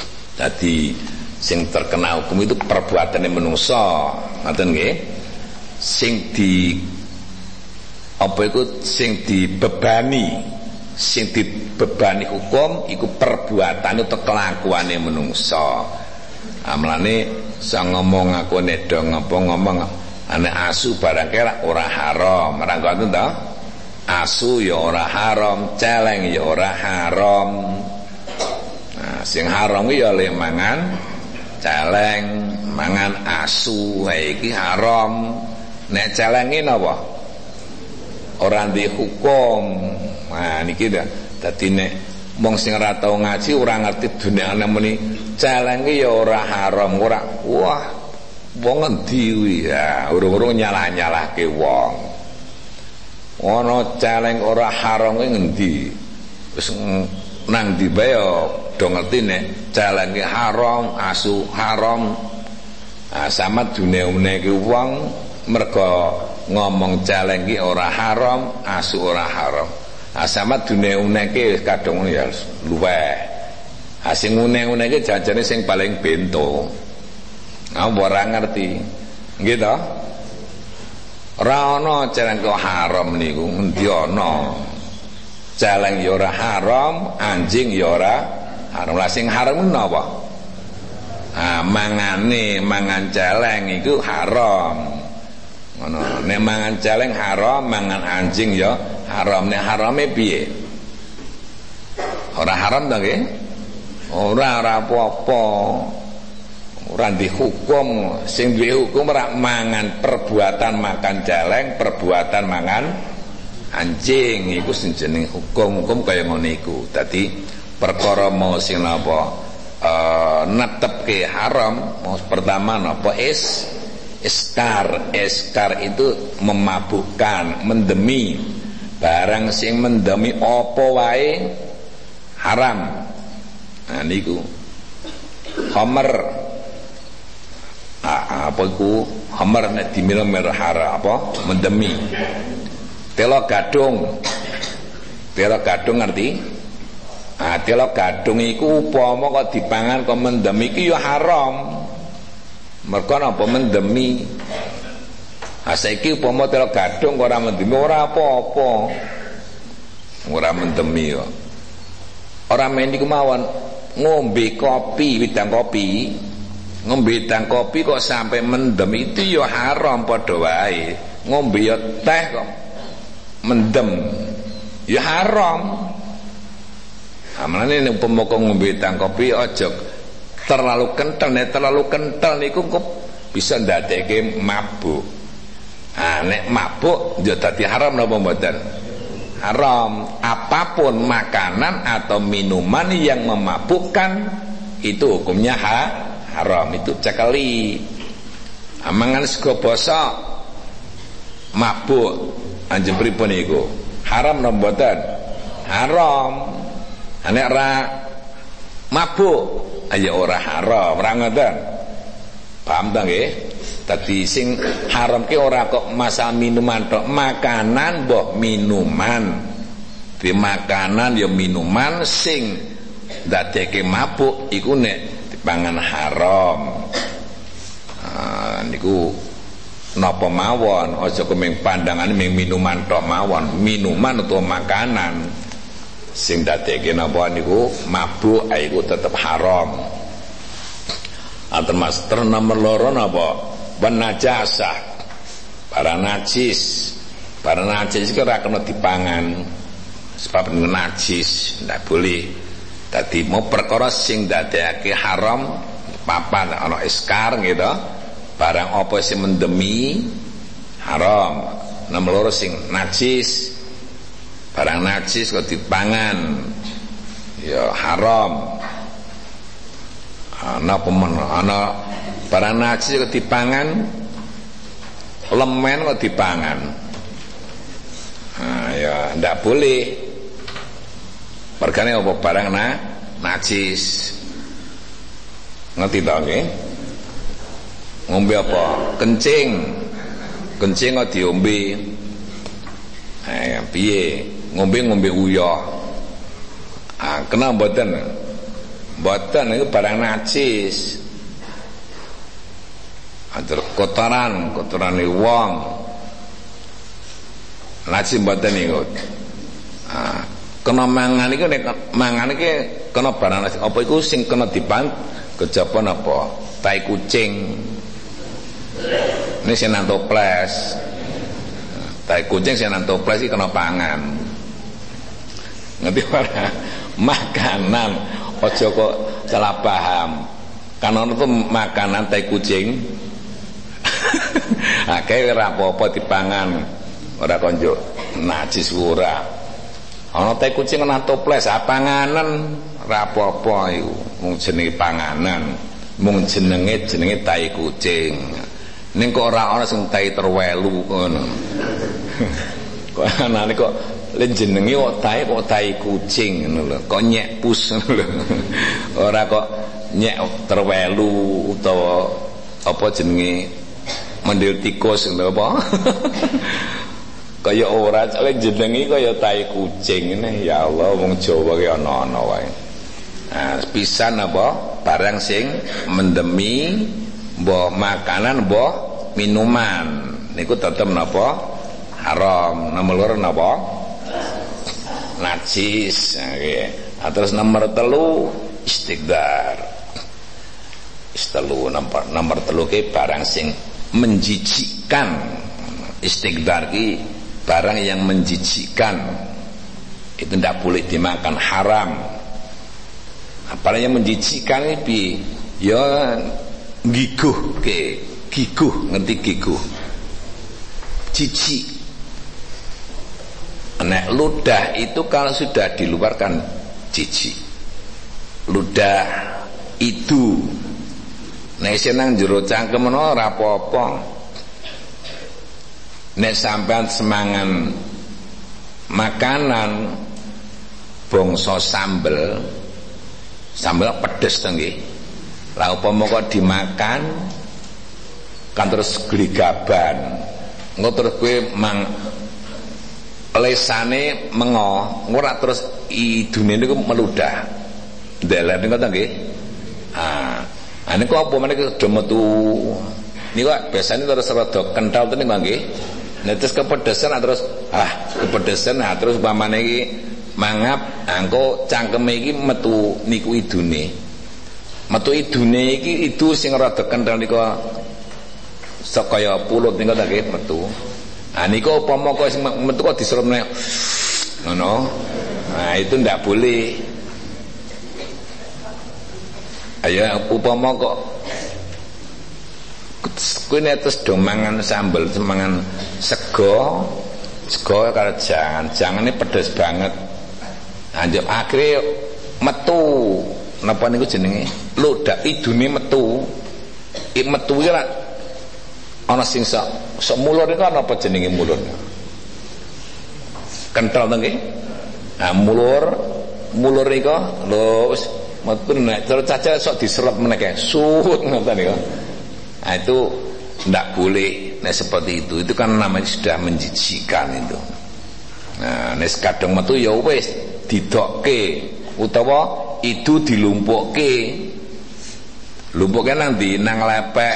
Dadi sing terkena hukum itu perbuatane manungsa, ngoten nggih. sing di apa iku sing dibebani sing dibebani hukum iku perbuatan atau kelakuane menungso. Amlane sang ngomong aku nek do ngomong ana asu barang kira ora haram. Ora ngoten to? Asu ya ora haram, celeng ya ora haram. Nah, sing haram ku ya le mangan celeng, mangan asu, iki haram. Nek celeng iki napa? Ora ndek hukum. Nah niki dah dadi nek wong sing ora tau ngaji ora ngerti dunia ana muni celeng iki ya ora haram, ora wah wong endi kuwi ya urung-urung nyalah-nyalahke wong. Ana celeng ora haram kuwi ngendi? Wis nang ndi bae do ngerti nek celeng iki haram, asu haram. Ah sama dunia-une iki wong mergo ngomong celeng ki ora haram, asu ora haram. Ah sama dunia-uneke kadung ya luweh. Ah sing une-uneke jajane sing paling bento. Ah ora ngerti. Nggih to? Ora ana celeng kok haram niku, endi ana. Celeng ya ora haram, anjing ya ora haram. Lah sing haram napa? Ah mangane mangan celeng iku haram. Ngono, nek mangan celeng haram, mangan anjing ya haram. Nek harame piye? Ora haram ta nggih? Ora ora apa-apa. Ora dihukum, sing duwe hukum ora mangan perbuatan makan celeng, perbuatan mangan anjing iku sing jeneng hukum-hukum kaya ngono iku. Dadi perkara mau sing napa eh netepke haram, pertama napa is Iskar, iskar itu memabukkan, mendemi. Barang sing mendemi apa wae haram. Nah niku. Khamr. Ah, apa iku? Khamr nek dimil-mil haram apa? Mendemi. Telo gadung. Telo gadung ngerti? Ah, telo gadung iku upama kok dipangan kok mendemi iki ya haram. Mereka apa mendemi. Ah saiki upama telo gadung ora mendemi ora apa-apa. Ora mendemi kok. Ora men iku mawon ngombe kopi, widang kopi. Ngombe widang kopi kok sampai mendem itu ya haram padha wae. Ngombe ya teh kok mendem ya haram. Amalane nek upama ngombe widang kopi aja terlalu kental, nek terlalu kental niku kok bisa ndadekke mabuk. Ah nek mabuk ya dadi haram napa mboten? Haram. Apapun makanan atau minuman yang memabukkan itu hukumnya ha, haram. Itu cekeli. Amangan sego bosok mabuk anjen pripun niku? Haram napa mboten? Haram. Nek ra mabuk aja ora haram, ora ngoten. Paham ta nggih? Dadi sing haram ki ora kok masalah minuman tok, makanan mbok minuman. Di makanan ya minuman sing ndadekke mabuk iku nek dipangan haram. Ah niku napa mawon, aja kemeng pandangane ming minuman tok mawon, minuman utawa makanan sing dadekke napa niku mabuk iku tetep haram. Ah termasuk nomor loro napa? Najasah. Barang najis. Barang najis iki ora kena dipangan. Sebab najis ndak boleh. Dadi mau perkara sing dadekake haram papan ana iskar gitu. Barang apa sing mendemi haram. Nomor loro sing najis. Barang najis kok dipangan ya haram. Ana pemen ana barang najis kok dipangan, lemen kok dipangan. Nah ya ndak boleh. Mergane apa barang na najis. Ngerti ta nggih? Ngombe apa? Kencing. Kencing kok diombe. Eh piye? Ngombe-ngombe uyah. Ah, kena mboten? Mboten itu barang najis. Atur kotoran, kotorane wong. Najis mboten niku. Ah, kena mangan iki nek mangan iki kena barang najis. Apa iku sing kena dipan kejaba napa? Tai kucing. Ini sing nang toples. Tai kucing sing nang toples iki kena pangan. Ngerti ora? Makanan aja kok salah paham. Kan ono tuh makanan tai kucing. Akeh ora apa-apa dipangan. Ora konjuk najis ora. Ana teh kucing nang toples, panganan ora apa-apa iku. Mung jenenge panganan, mung jenenge jenenge tai kucing. Ning kok ora ana sing tai terwelu ngono. Kok anane kok le jenenge kok tai kok tai kucing ngono lho. Kok nyek pus ngono lho. Ora kok nyek terwelu utawa apa jenenge mendil tikus ngono apa. Kaya ora cale jenenge kaya tai kucing ngene. Ya Allah wong Jawa ki ana-ana wae. Nah, pisan apa barang sing mendemi mbah makanan mbah minuman niku tetep napa haram. Nomor loro napa najis. Nggih. Nah, terus nomor telu istighfar. Istelu nomor nomor telu ki barang sing menjijikkan. Istighfar ki barang yang menjijikkan, itu tidak boleh dimakan, haram. Apa yang menjijikkan ini ya giguh ke giguh, ngerti giguh, jijik. Nek ludah itu kalau sudah diluarkan jijik. Ludah itu nek senang jero cangkem ora apa-apa. Nek sampean semangan makanan bangsa sambel, sambel pedes to nggih. Lah upama kok dimakan kan terus gligaban. Engko terus kowe mang lesane mengo, ora terus idune niku meludah. Ndelek niku to nggih. Ah, ane kok apa meneh do metu. Niku biasane terus rada kental to niku nggih. Nah terus kepedesan terus ah kepedesan nah terus umpamane iki mangap angko cangkeme iki metu niku idune. Metu idune iki itu sing rada kental niku sakaya pulut niku ta nggih metu. Ah niku upama kok sing metu kok diserupne ngono. Nah itu ndak boleh. Ayo upama kok kuwi nek terus do mangan sambel, mangan sego, sego karo jangan, jangane pedes banget. Anjuk akhire metu. Napa niku jenenge? Ludah idune metu. I metu iki lak ana sing sak sak mulur niku ana apa jenenge mulur? Kental to nggih? Nah, mulur, mulur niku lho wis metu nek terus caca sok diserep meneh sut ngoten niku. Nah itu tidak boleh. Nah seperti itu, itu kan namanya sudah menjijikkan itu. Nah nes kadang metu ya wis didokke utawa itu dilumpukke. Lumpukke nang ndi nang lepek.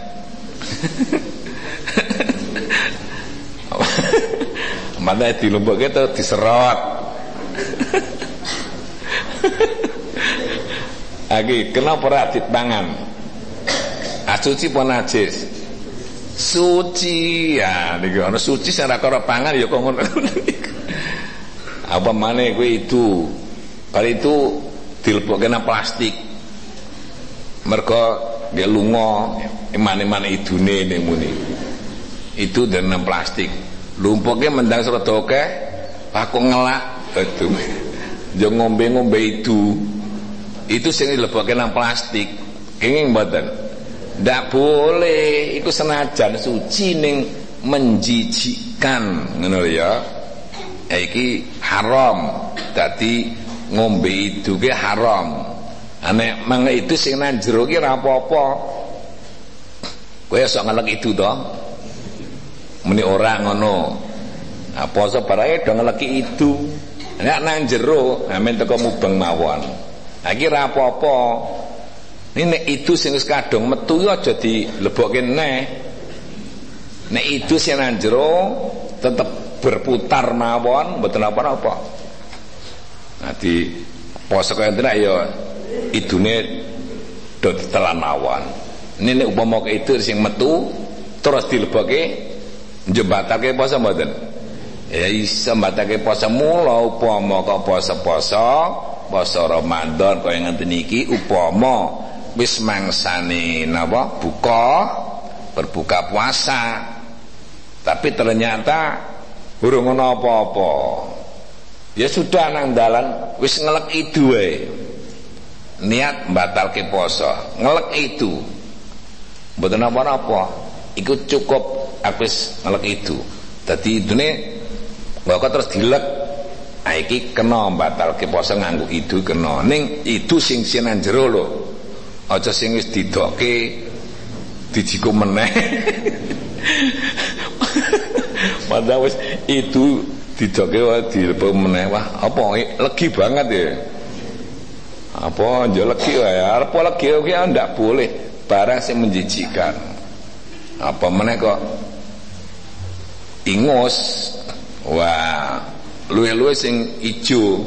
Mana dilumpukke terus diserot. Lagi kenapa ora dipangan? Suci pun najis. Suci ya niku ana suci sing ora karo pangan ya kok ngono. Apa maneh kuwi itu. Kali itu dilebokke nang plastik. Mergo dia lunga eman-eman idune ning muni. Itu dan nang plastik. Lumpuke mendang serada akeh, aku ngelak itu. Yo ngombe-ngombe itu. Itu sing dilebokke nang plastik. Kenging mboten. Ndak boleh, iku senajan suci ning menjijikkan ngono ya. Iki haram. Dadi ngombe itu ki haram. Nek mang itu sing nang jero ki ora apa-apa. Kowe sok ngelek itu to. Muni ora ngono. Nah, poso barake do ngeleki itu. Nek nang jero, amen teko mubeng mawon. Lah iki ora apa-apa. Nek itu sing wis kadung metu yo aja dilebokke neh. Nek itu sing nang jero tetep berputar mawon mboten apa-apa. Nah di poso kaya tenan ya idune do ditelan mawon. Ini nek upama itu sing metu terus dilebokke njembatake poso mboten. Ya iso mbatake poso mula upama kok poso-poso poso Ramadan kaya ngenten iki upama wis mangsane napa buka berbuka puasa tapi ternyata urung ana apa-apa ya sudah nang dalan wis ngelek idu wae niat batalke poso ngelek itu mboten apa-apa iku cukup wis ngelek itu dadi idune kok terus dilek ah iki kena batalke poso nganggo idu kena ning itu sing sinan jero lho aja sing wis didokke dijiku meneh padahal wis itu didokke wae dilebok meneh wah apa legi banget ya apa yo legi wae arep legi ki ndak boleh barang sing menjijikan apa meneh kok ingus wah luwe-luwe sing ijo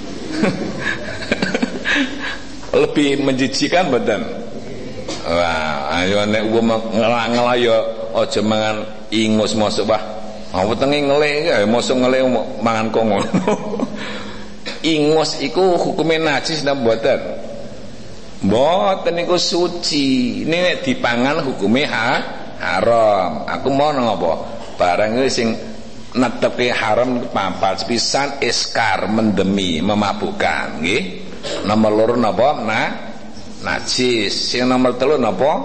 lebih menjijikan badan. Wah, ayo nek wong ngelak-ngelak ya aja mangan ingus mosok bah. Ah wetenge ngelek ya mosok ngelek mangan kok ngono. Ingus iku hukume najis napa mboten? Mboten niku suci. Ini nek dipangan hukume ha, haram. Aku mau napa? Barang iki sing netepke haram papat pisan iskar mendemi memabukkan nggih. Nomor loro napa? Nah, najis. Sing nomor telu napa?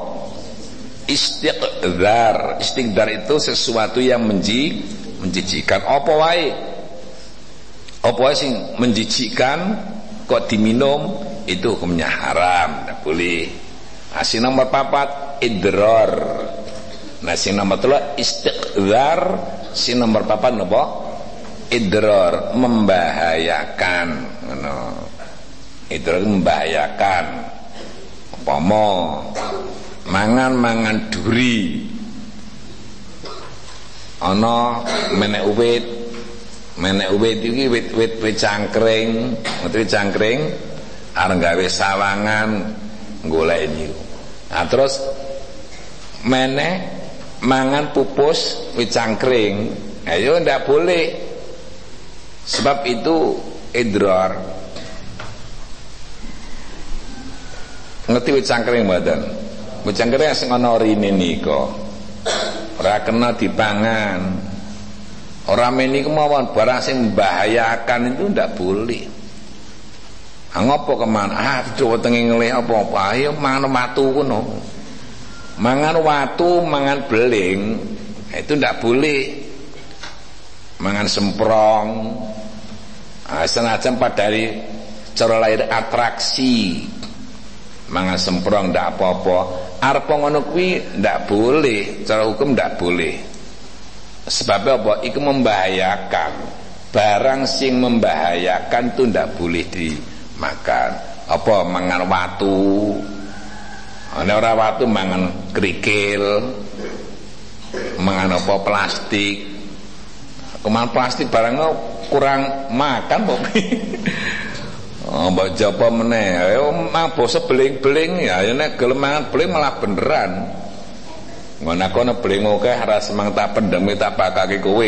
Istiqdar. Istiqdar itu sesuatu yang menji menjijikan. Apa wae? Apa wae sing menjijikan kok diminum itu hukumnya haram, tidak boleh. Nah, sing nomor papat idrar. Nah, sing nomor telu istiqdar, sing nomor papat napa? Idrar, membahayakan. Ngono. Itu membahayakan. Umpama mangan-mangan duri ana menek uwit menek uwit iki wit-wit wit cangkring wit cangkring arep gawe sawangan golek niku nah terus menek mangan pupus wit cangkring ayo ndak boleh sebab itu idrar. Ngerti wit cangkring mboten? Wit cangkring sing ana rine nika. Ora kena dipangan. Ora meni kemawon barang sing membahayakan itu ndak boleh. Ah ngopo kemana? Ah wetenge ngelih apa-apa. Ayo mangan watu kono. Mangan watu, mangan beling, itu ndak boleh. Mangan semprong. Ah senajan padari cara lahir atraksi. Mangan semprong ndak apa-apa. Arep ngono kuwi ndak boleh, cara hukum ndak boleh. Sebab apa? Iku membahayakan. Barang sing membahayakan itu ndak boleh dimakan. Apa mangan watu? Ana ora watu mangan krikil. Mangan apa plastik. Keman plastik barang kurang makan kok. Oh, mbak japa meneh, ayo mang basa beling-beling ya, nek gelem mangan beling malah beneran. Ngono kono beling akeh ora semang tak pendem tak bakake kowe.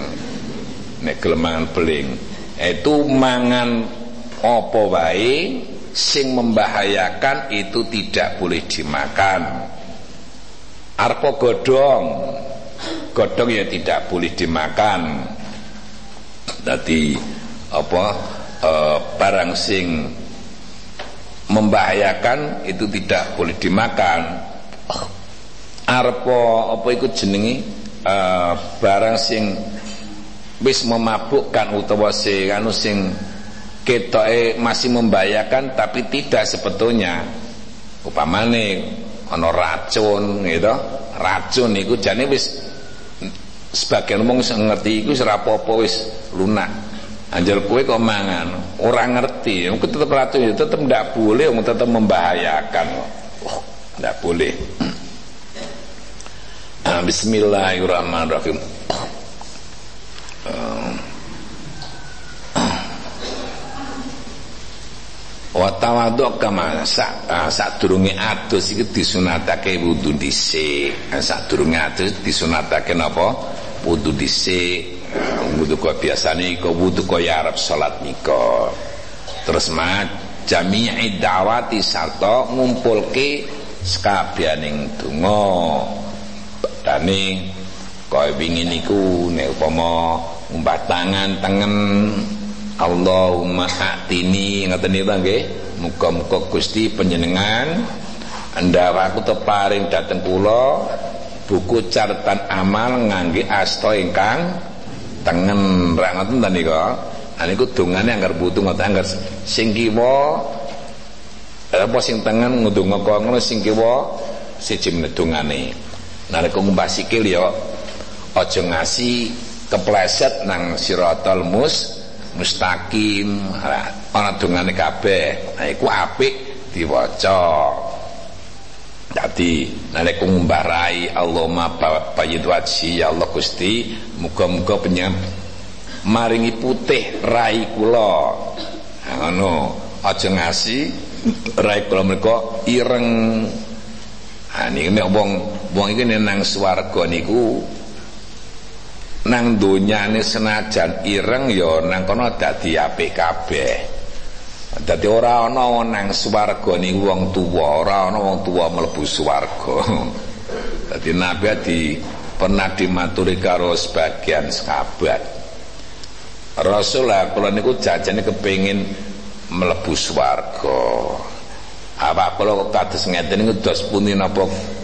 Nek gelem mangan beling, itu mangan apa wae sing membahayakan itu tidak boleh dimakan. Arep godhong, godhong ya tidak boleh dimakan. Dadi apa? Uh, barang sing membahayakan itu tidak boleh dimakan. Oh, arpo apa iku jenenge uh, barang sing wis memabukkan utawa sing anu sing ketoke masih membahayakan tapi tidak sebetulnya. Upamane ana racun gitu. Racun iku jane wis sebagian wong ngerti iku wis ora apa-apa wis lunak. Anjal kue kok mangan orang ngerti, mungkin tetap racun, tetap tidak boleh, tetap membahayakan. boleh. Bismillahirrahmanirrahim. Wa tawadhu kama sak sadurunge adus iki disunatake wudu dhisik. Sadurunge adus disunatake napa? Wudu dhisik. Wudu kok biasane iku wudu kaya arep salat nika. Terus ma jami'i da'wati sarta ngumpulke sekabiyaning donga. Badane kaya wingi niku nek upama ngumbah tangan tengen Allahumma atini ngoten niku nggih. Muga-muga Gusti panjenengan andhawaku teparing dhateng kula buku catatan amal ngangge asta ingkang tengen. Ra ngoten ta nika. Nah niku dongane anggar butuh ngoten anggar sing kiwa apa sing tengen ngundunga ngono sing kiwa siji meneh dongane. Nalika ngumbah sikil ya aja ngasi kepleset nang siratal mus mustaqim. Ana dongane kabeh. Nah iku apik diwaca. Dadi nalika ngumbah rai Allahumma bayyid wajhi ya Allah Gusti muga-muga penyang maringi putih rai kula. Nah ngono aja ngasi rai kula menika ireng. Ha niki nek wong wong iki nang swarga niku nang donyane senajan ireng ya nang kono dadi apik kabeh. Dadi ora ana nang swarga niku wong tuwa, ora ana wong tuwa mlebu swarga. Dadi Nabi di pernah dimaturi karo sebagian sahabat. Rasulullah kula niku jajane kepengin mlebu swarga. Apa kula kok kados ngeten niku dos pundi napa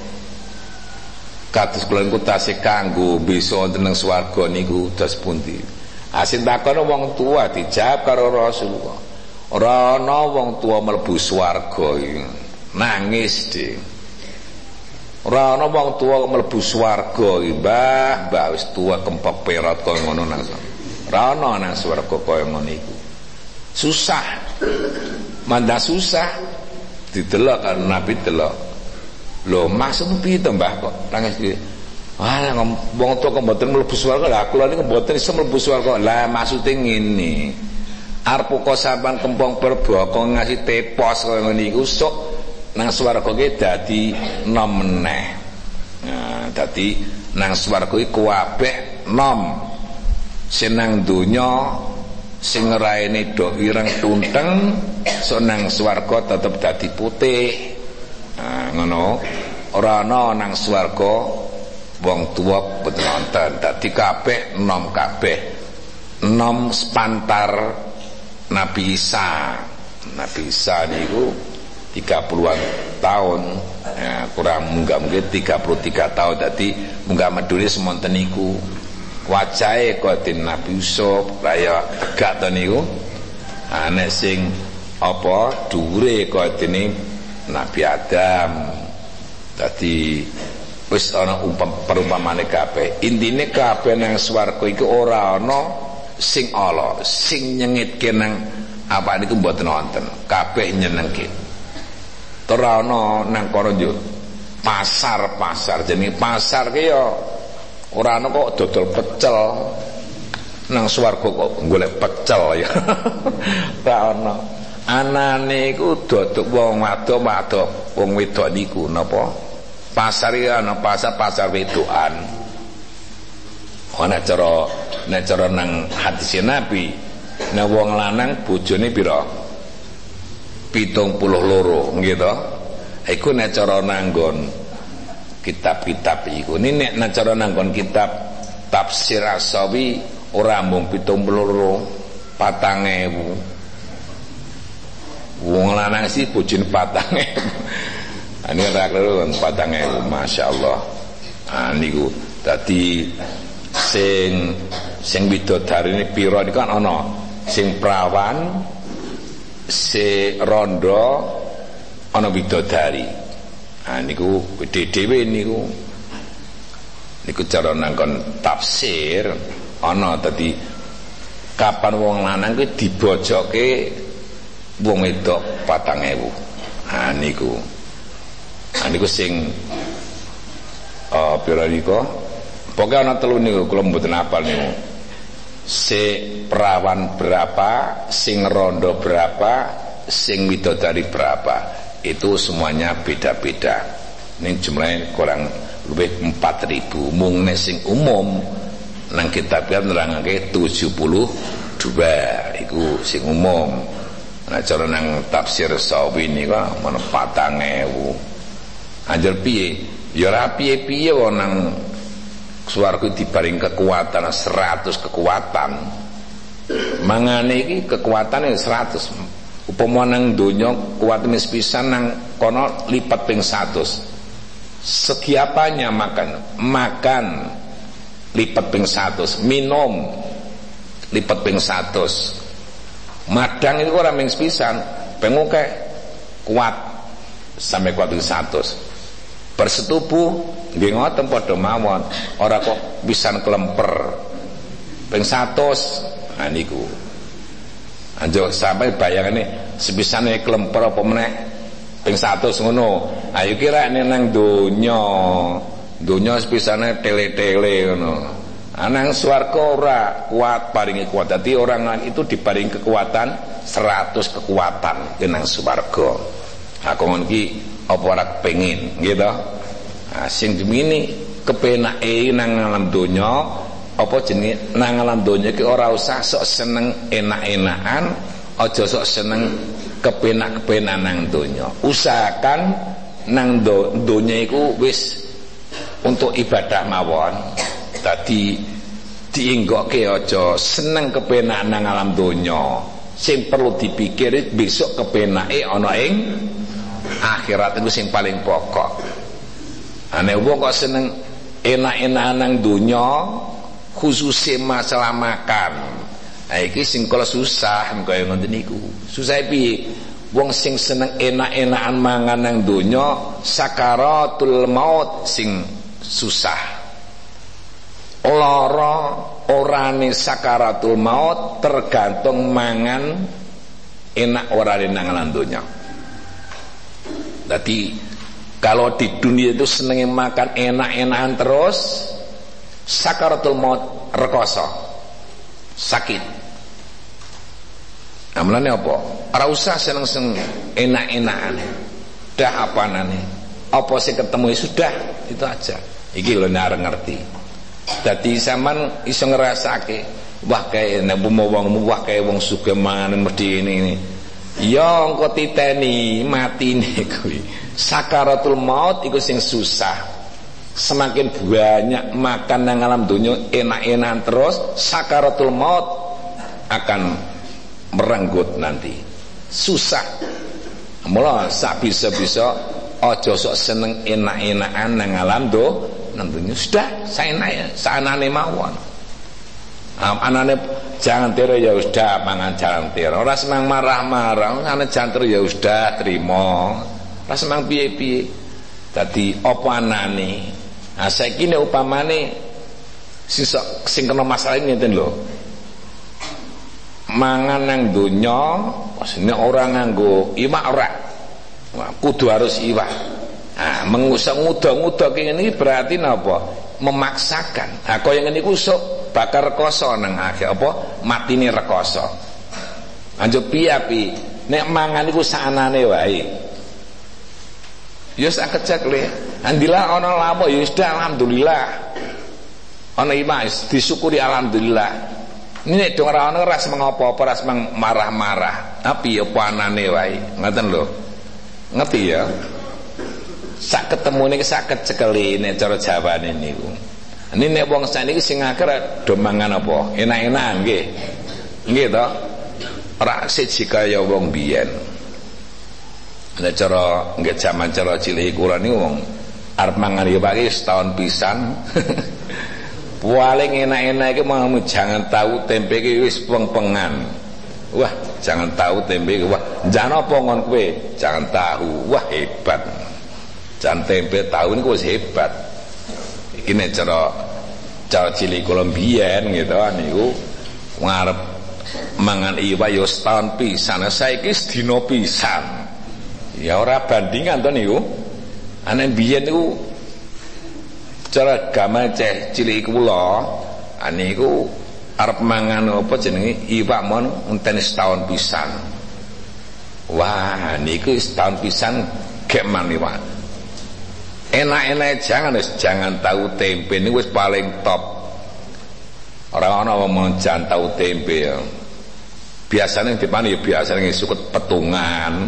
kados kula niku tasih kanggo bisa wonten ing swarga niku dos pundi. Asin takon wong tua dijawab karo Rasulullah. Ora ana wong tua mlebu swarga iki. Nangis dhek. Ora ana wong tua mlebu swarga iki, Mbah, Mbah wis tua kempek perot kaya ngono nang. Ora ana nang swarga kaya ngono iku. Susah. Manda susah. Didelok kan Nabi delok. Lho maksud piye to Mbah kok nangis iki? Ah wong tua kok mboten mlebu swarga. Lah kula niku mboten iso mlebu swarga. Lah maksude ngene. Arep kok sampean kempong berboko ngasih tepos kaya ngene iku sok nang swarga ki dadi nom meneh. Nah, dadi nang swarga iku kabeh nom. Sing nang donya sing raine do ireng tunteng, sok nang swarga tetep dadi putih. Nah, ngono. Ora ana nang swarga wong tuwa boten wonten. Dadi kabeh nom kabeh. Nom sepantar Nabi Isa. Nabi Isa niku tiga puluhan tahun ya, kurang munggah mungkin tiga puluh tiga tahun. Dadi munggah medune semonten niku wajahe kaya Nabi Yusuf kaya tegak to niku. Ana sing apa dhuwure kaya dene Nabi Adam. Dadi wis ana perumpamane kabeh. Intine kabeh nang swarga iku ora ana sing ala, sing nyengitke nang apa niku mboten wonten. Kabeh nyenengke. Ora ana nang kono yo pasar-pasar jenenge pasar ki ya ora ana kok dodol pecel. Nang swarga kok golek pecel ya. Ora ana. Anane iku dodok wong wadok-wadok, wong wedok niku napa? Pasar iki ana pasar-pasar wedokan. Ana cara nek cara nang hadis Nabi, nek wong lanang bojone pira? pitung puluh loro nggih to. Iku nek cara nanggon kitab-kitab iku. Ini nek nek cara nanggon kitab tafsir As-Sawi ora mung pitung puluh loro, patang ewu. Wong lanang sih bojone patang ewu. Ini ora keliru patang ewu, masyaallah. Ah niku dadi sing sing widodari ini pira niku kan ana sing prawan, sing rondo, ana widodari. Ah niku dhewe niku niku cara nangkon tafsir ana dadi kapan wong lanang kuwi dibojoke wong wedok patang ewu. Ah niku niku sing uh, pira niku pokoke ana telu niku kula mboten hafal niku. Se perawan berapa, sing rondo berapa, sing widodari berapa. Itu semuanya beda-beda. Ini jumlahnya kurang lebih empat ribu. Mung nek sing umum nang kitabnya nerangake tujuh puluh dua iku sing umum. Nah cara nang tafsir Sawi niku ana patang ewu. Anjir piye? Ya ora piye-piye wae nang swarga dibaring kekuatan seratus kekuatan. Mangane iki kekuatane seratus. Upama nang donya kuwatane sepisan nang kono lipat ping seratus. Segi apanya makan? Makan lipat ping seratus, minum lipat ping seratus. Madang itu ora ming sepisan, pengoke kuat sampai kuat ping seratus. Bersetubuh nggih ngoten padha mawon, ora kok pisan kelemper ping seratus. Nah niku anjo sampai bayangane sepisane kelemper apa meneh ping seratus ngono. Ayo kira nek nang donya, donya sepisane tele-tele ngono. Anang swarga ora kuat paringi kuat. Dadi orang itu diparingi kekuatan seratus kekuatan nang swarga. Aku ngono iki apa ora kepengin nggih to. Nah sing dimini kepenake nang alam donya apa jenenge nang alam donya iki ora usah sok seneng enak-enakan, aja sok seneng kepenak-kepenan nang donya. Usahakan nang do, donya iku wis untuk ibadah mawon. Dadi diinggokke aja seneng kepenak nang alam donya. Sing perlu dipikir besok kepenake ana ing akhirat itu sing paling pokok. Ane wong kok seneng enak-enakan nang donya khususnya masalah makan. Nah iki sing kala susah kaya ngoten niku. Susah piye? Wong sing seneng enak-enakan mangan nang donya sakaratul maut sing susah. Lara orane sakaratul maut tergantung mangan enak orane nang alam donya. Dadi kalau di dunia itu senenge makan enak-enakan terus, sakaratul maut rekoso sakit. Amlane apa? Ora usah seneng-seneng enak-enakan. Dah apanane? Apa sing ketemu ya sudah, itu aja. Iki lho nek arep ngerti. Dadi sampean iso ngrasake, wah kae nek wong wah kae wong sugih manganan mesti ini. Ya engko titeni matine kuwi. Sakaratul maut iku sing susah. Semakin banyak makan nang alam dunia enak-enakan terus, sakaratul maut akan merenggut nanti. Susah. Mula sak bisa-bisa aja sok seneng enak-enakan nang alam do nang dunia. Sudah, saenake saenane mawon. Anane jangan tiru ya sudah mangan jangan tiru. Ora semang marah-marah, anane jangan tiru ya sudah trimo. Ora semang piye-piye. Dadi apa anane? Nah saiki nek upamane sing sing kena masalah ini ngeten lho. Mangan nang donya nek ora nganggo iwak ora. Wah, kudu harus iwak. Nah, mengusah nguda-nguda kene iki berarti napa? Memaksakan. Nah, kaya ngene iku sok bakar rekoso nang akhir apa? Matine rekoso. Anjo piye nek mangan iku saanane wae. Ya sak kecek le. Andila ana lamu ya sudah alhamdulillah. Ana imas disyukuri alhamdulillah. Ini nek dong ora ana ora semeng apa-apa, ora semeng marah-marah. Tapi ya panane wae. Ngoten lho. Ngerti ya? Sak ketemune sak kecekeli nek cara Jawane niku. Ini nek wong saniki sing akhir do mangan apa? Enak-enakan nggih. Nggih to? Ora siji kaya wong biyen. Nek cara nggih jaman cara cilik kula niku wong arep mangan ya Pak setahun pisan. Paling enak-enak iki mau jangan tahu tempe iki wis peng-pengan. Wah, jangan tahu tempe iki wah, jan apa ngon kowe? Jangan tahu. Wah, hebat. Jan tempe tahu niku wis hebat. Iki nek cara cara cilik kula biyen gitu niku ngarep mangan iwak ya setahun pisan. Saiki sedina pisan. Ya ora bandingan to niku. Ana biyen niku cara gamal ceh cilik kula aniku arep mangan apa jenenge iwak mon enten setahun pisan. Wah niku setahun pisan gek man iwak. Enak-enak jangan wis jangan tahu tempe niku wis paling top. Ora ana wong jan tahu tempe ya. Biasane dipane ya biasane sukut petungan.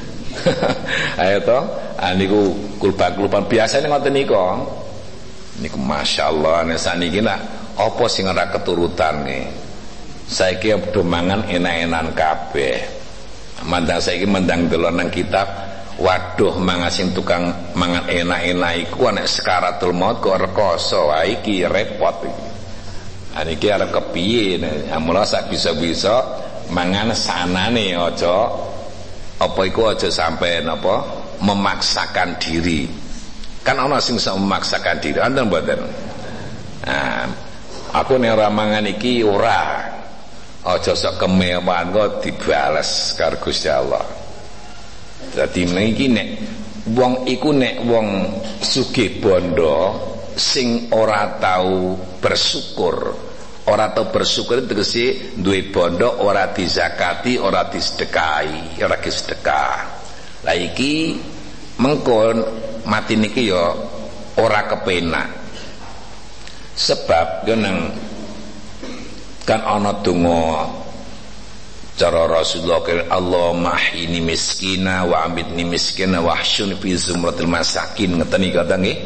Ayo to, niku kulba-kulban biasane ngoten niku. Niku masyaallah nek saniki nak apa sing ora keturutane. Saiki padha mangan enak-enakan kabeh. Mandang saiki mendang delok nang kitab, waduh mangan sing tukang mangan enak-enak iku nek sekaratul maut kok rekoso. Wah iki repot iki. Niki arep kepiye nek mula sak bisa-bisa mangan sanane aja apa iku aja sampai napa memaksakan diri. Kan ana sing iso memaksakan diri, wonten mboten? Nah, aku nek ora mangan iki ora. Aja sok kemewahan kok dibales karo Gusti Allah. Dadi niki nek wong iku nek wong sugih bondo sing ora tahu bersyukur, ora tau bersyukur tegese duwe bondo ora dizakati, ora disedekahi, ora disedekah. Lah iki mengkon mati niki ya ora kepenak. Sebab yo nang kan ana donga cara Rasulullah kira Allahumma ahyini miskina wa amitni miskina wa ahsyuni fi zumratil masakin ngeten iki kata nggih.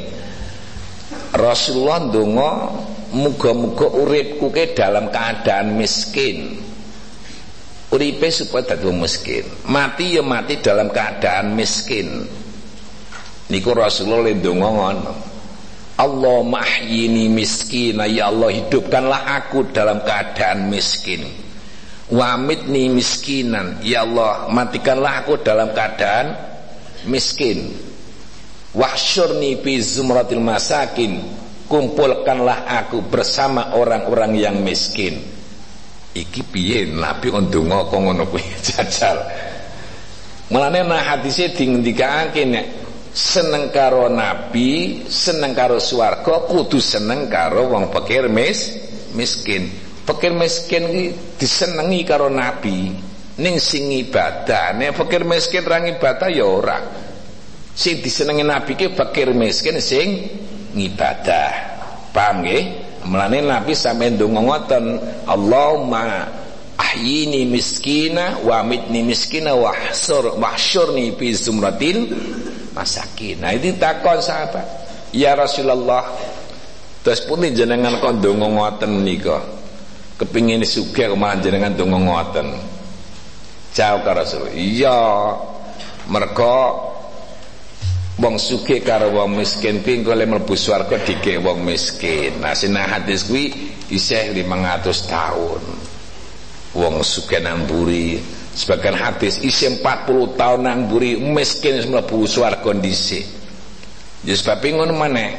Rasulullah ndonga muga-muga uripku ke dalam keadaan miskin. Uripe supaya dadi miskin, mati ya mati dalam keadaan miskin. Niku Rasulullah ndonga ngono. Allahumma ahyini miskina, ya Allah hidupkanlah aku dalam keadaan miskin. Wa amitni miskinan, ya Allah matikanlah aku dalam keadaan miskin. Wahsyurni fi zumratil masakin, kumpulkanlah aku bersama orang-orang yang miskin. Iki piye Nabi ndonga kok ngono kuwi jajal. Mulane nah hadise dingendikake nek seneng karo Nabi, seneng karo swarga, kudu seneng karo wong fakir mis miskin. Fakir miskin iki disenengi karo Nabi ning sing ibadah. Nek fakir miskin ra ibadah ya ora. Sing disenengi Nabi ki fakir miskin sing ngibadah. Paham nggih? Mulane Nabi sampe ndonga ngoten, Allahumma ahyini miskina wa amitni miskina wa ahsur wahsyurni fi zumratil masakin. Nah itu takon sahabat, ya Rasulullah, terus pun jenengan kok ndonga ngoten nika, kepingin sugih kok malah jenengan ndonga ngoten. Jawab karo Rasul, iya mergo wong sugih karo wong miskin kuwi engko le mlebu swarga dikek wong miskin. Nah sinah hadis kuwi isih limang atus tahun. Wong sugih nang mburi, sebagian hadis isih empat puluh tahun nang mburi, miskin mlebu swarga dhisik. Ya sebab ngono maneh.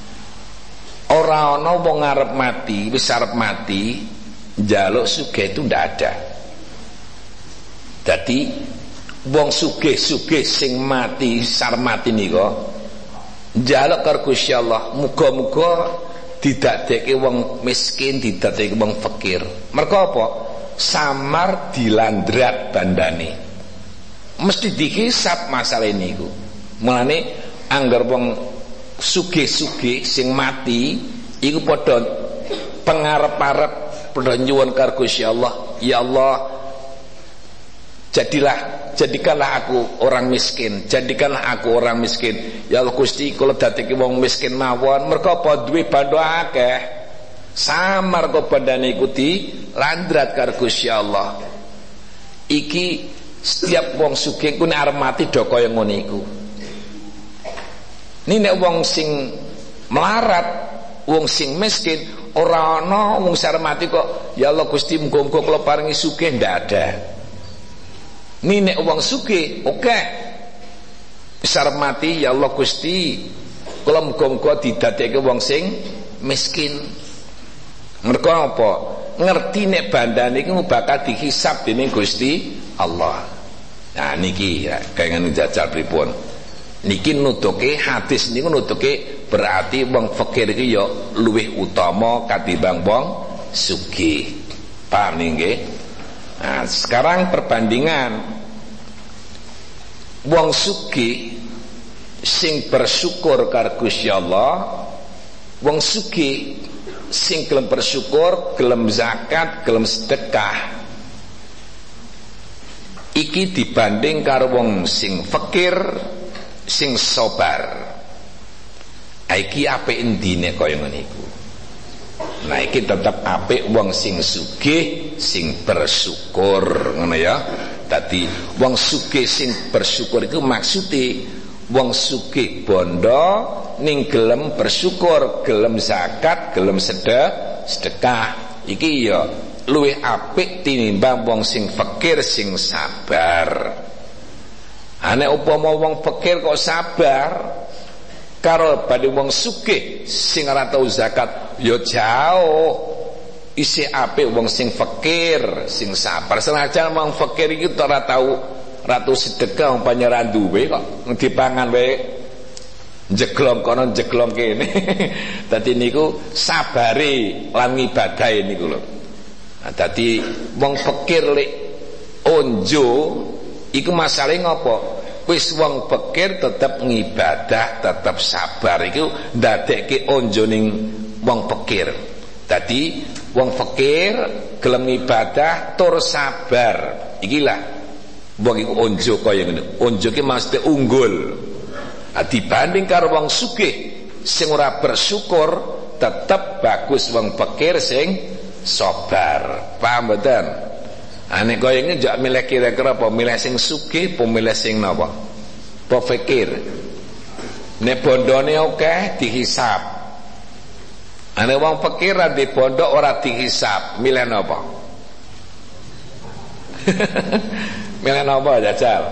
Ora ana wong arep mati, wis arep mati, njaluk sugih itu ndak ada. Dadi wong sugih-sugih sing mati sar mati nika njaluk karo Gusti Allah, muga-muga didadekke wong miskin, didadekke wong fakir. Mergo apa? Samar dilandrat bandane. Mesti dihisab masalah niku. Mulane anggar wong sugih-sugih sing mati iku padha pengarep-arep padha nyuwun karo Gusti Allah, ya Allah jadilah jadikanlah aku orang miskin, jadikanlah aku orang miskin. Ya Allah Gusti kula dadekke wong miskin mawon mergo apa duwe bandha akeh. Samar kok bandane iku dilandrat karo Gusti Allah. Iki setiap wong sugih ku nek arep mati do kaya ngono iku. Ini nek wong sing melarat, wong sing miskin, ora ana wong sing arep mati kok ya Allah Gusti muga-muga kula paringi sugih, ndak ada. Ini nek wong sugih, oke. Okay. Wis arep mati ya Allah Gusti kula muga-muga didadekke wong sing miskin. Mergo apa? Ngerti nek bandane iku bakal dihisab dening Gusti Allah. Nah niki ya, kaya ngene jajal pripun. Niki nutuke hadis niku nutuke berarti wong fakir iki ya luwih utama katimbang wong sugih. Paham nggih? Nah, sekarang perbandingan wong sugih sing bersyukur karo Gusti Allah, wong sugih sing gelem bersyukur, gelem zakat, gelem sedekah. Iki dibanding karo wong sing fakir, sing sabar. Iki apik endine kaya ngene iku. Nah iki tetep apik wong sing sugih, sing bersyukur, ngono ya. Dadi wong sugih sing bersyukur iku maksude wong sugih bondo ning gelem bersyukur, gelem zakat, gelem sedekah, sedekah. Iki ya luwih apik tinimbang wong sing fakir sing sabar. Ane upama wong fakir kok sabar karo badhe wong sugih sing ora tau zakat ya jauh. Isih apik wong sing fakir sing sabar. Senajan wong fakir iki ora tau ora tau sedekah umpamane ra duwe kok dipangan wae jeglong kono jeglong kene. Dadi niku sabare lan ngibadahe niku lho. Nah, dadi wong fakir lek onjo iku masalahe ngopo? Wis wong fakir tetep ngibadah, tetep sabar. Iku ndadekke onjo ning wong fakir. Dadi wong fakir gelem ngibadah tur sabar. Ikilah wong iku onjo kaya ngene. Onjo ki mesti unggul. Nah, dibanding karo wong sugih sing ora bersyukur, tetep bagus wong fakir sing sabar. Paham mboten? Ane kaya ngene njak milih kira-kira apa milih sing sugih apa milih sing napa? Apa fakir? Nek bondone akeh dihisab. Ane wong fakir ra di bondo ora dihisab, milih napa? Milih napa jajal?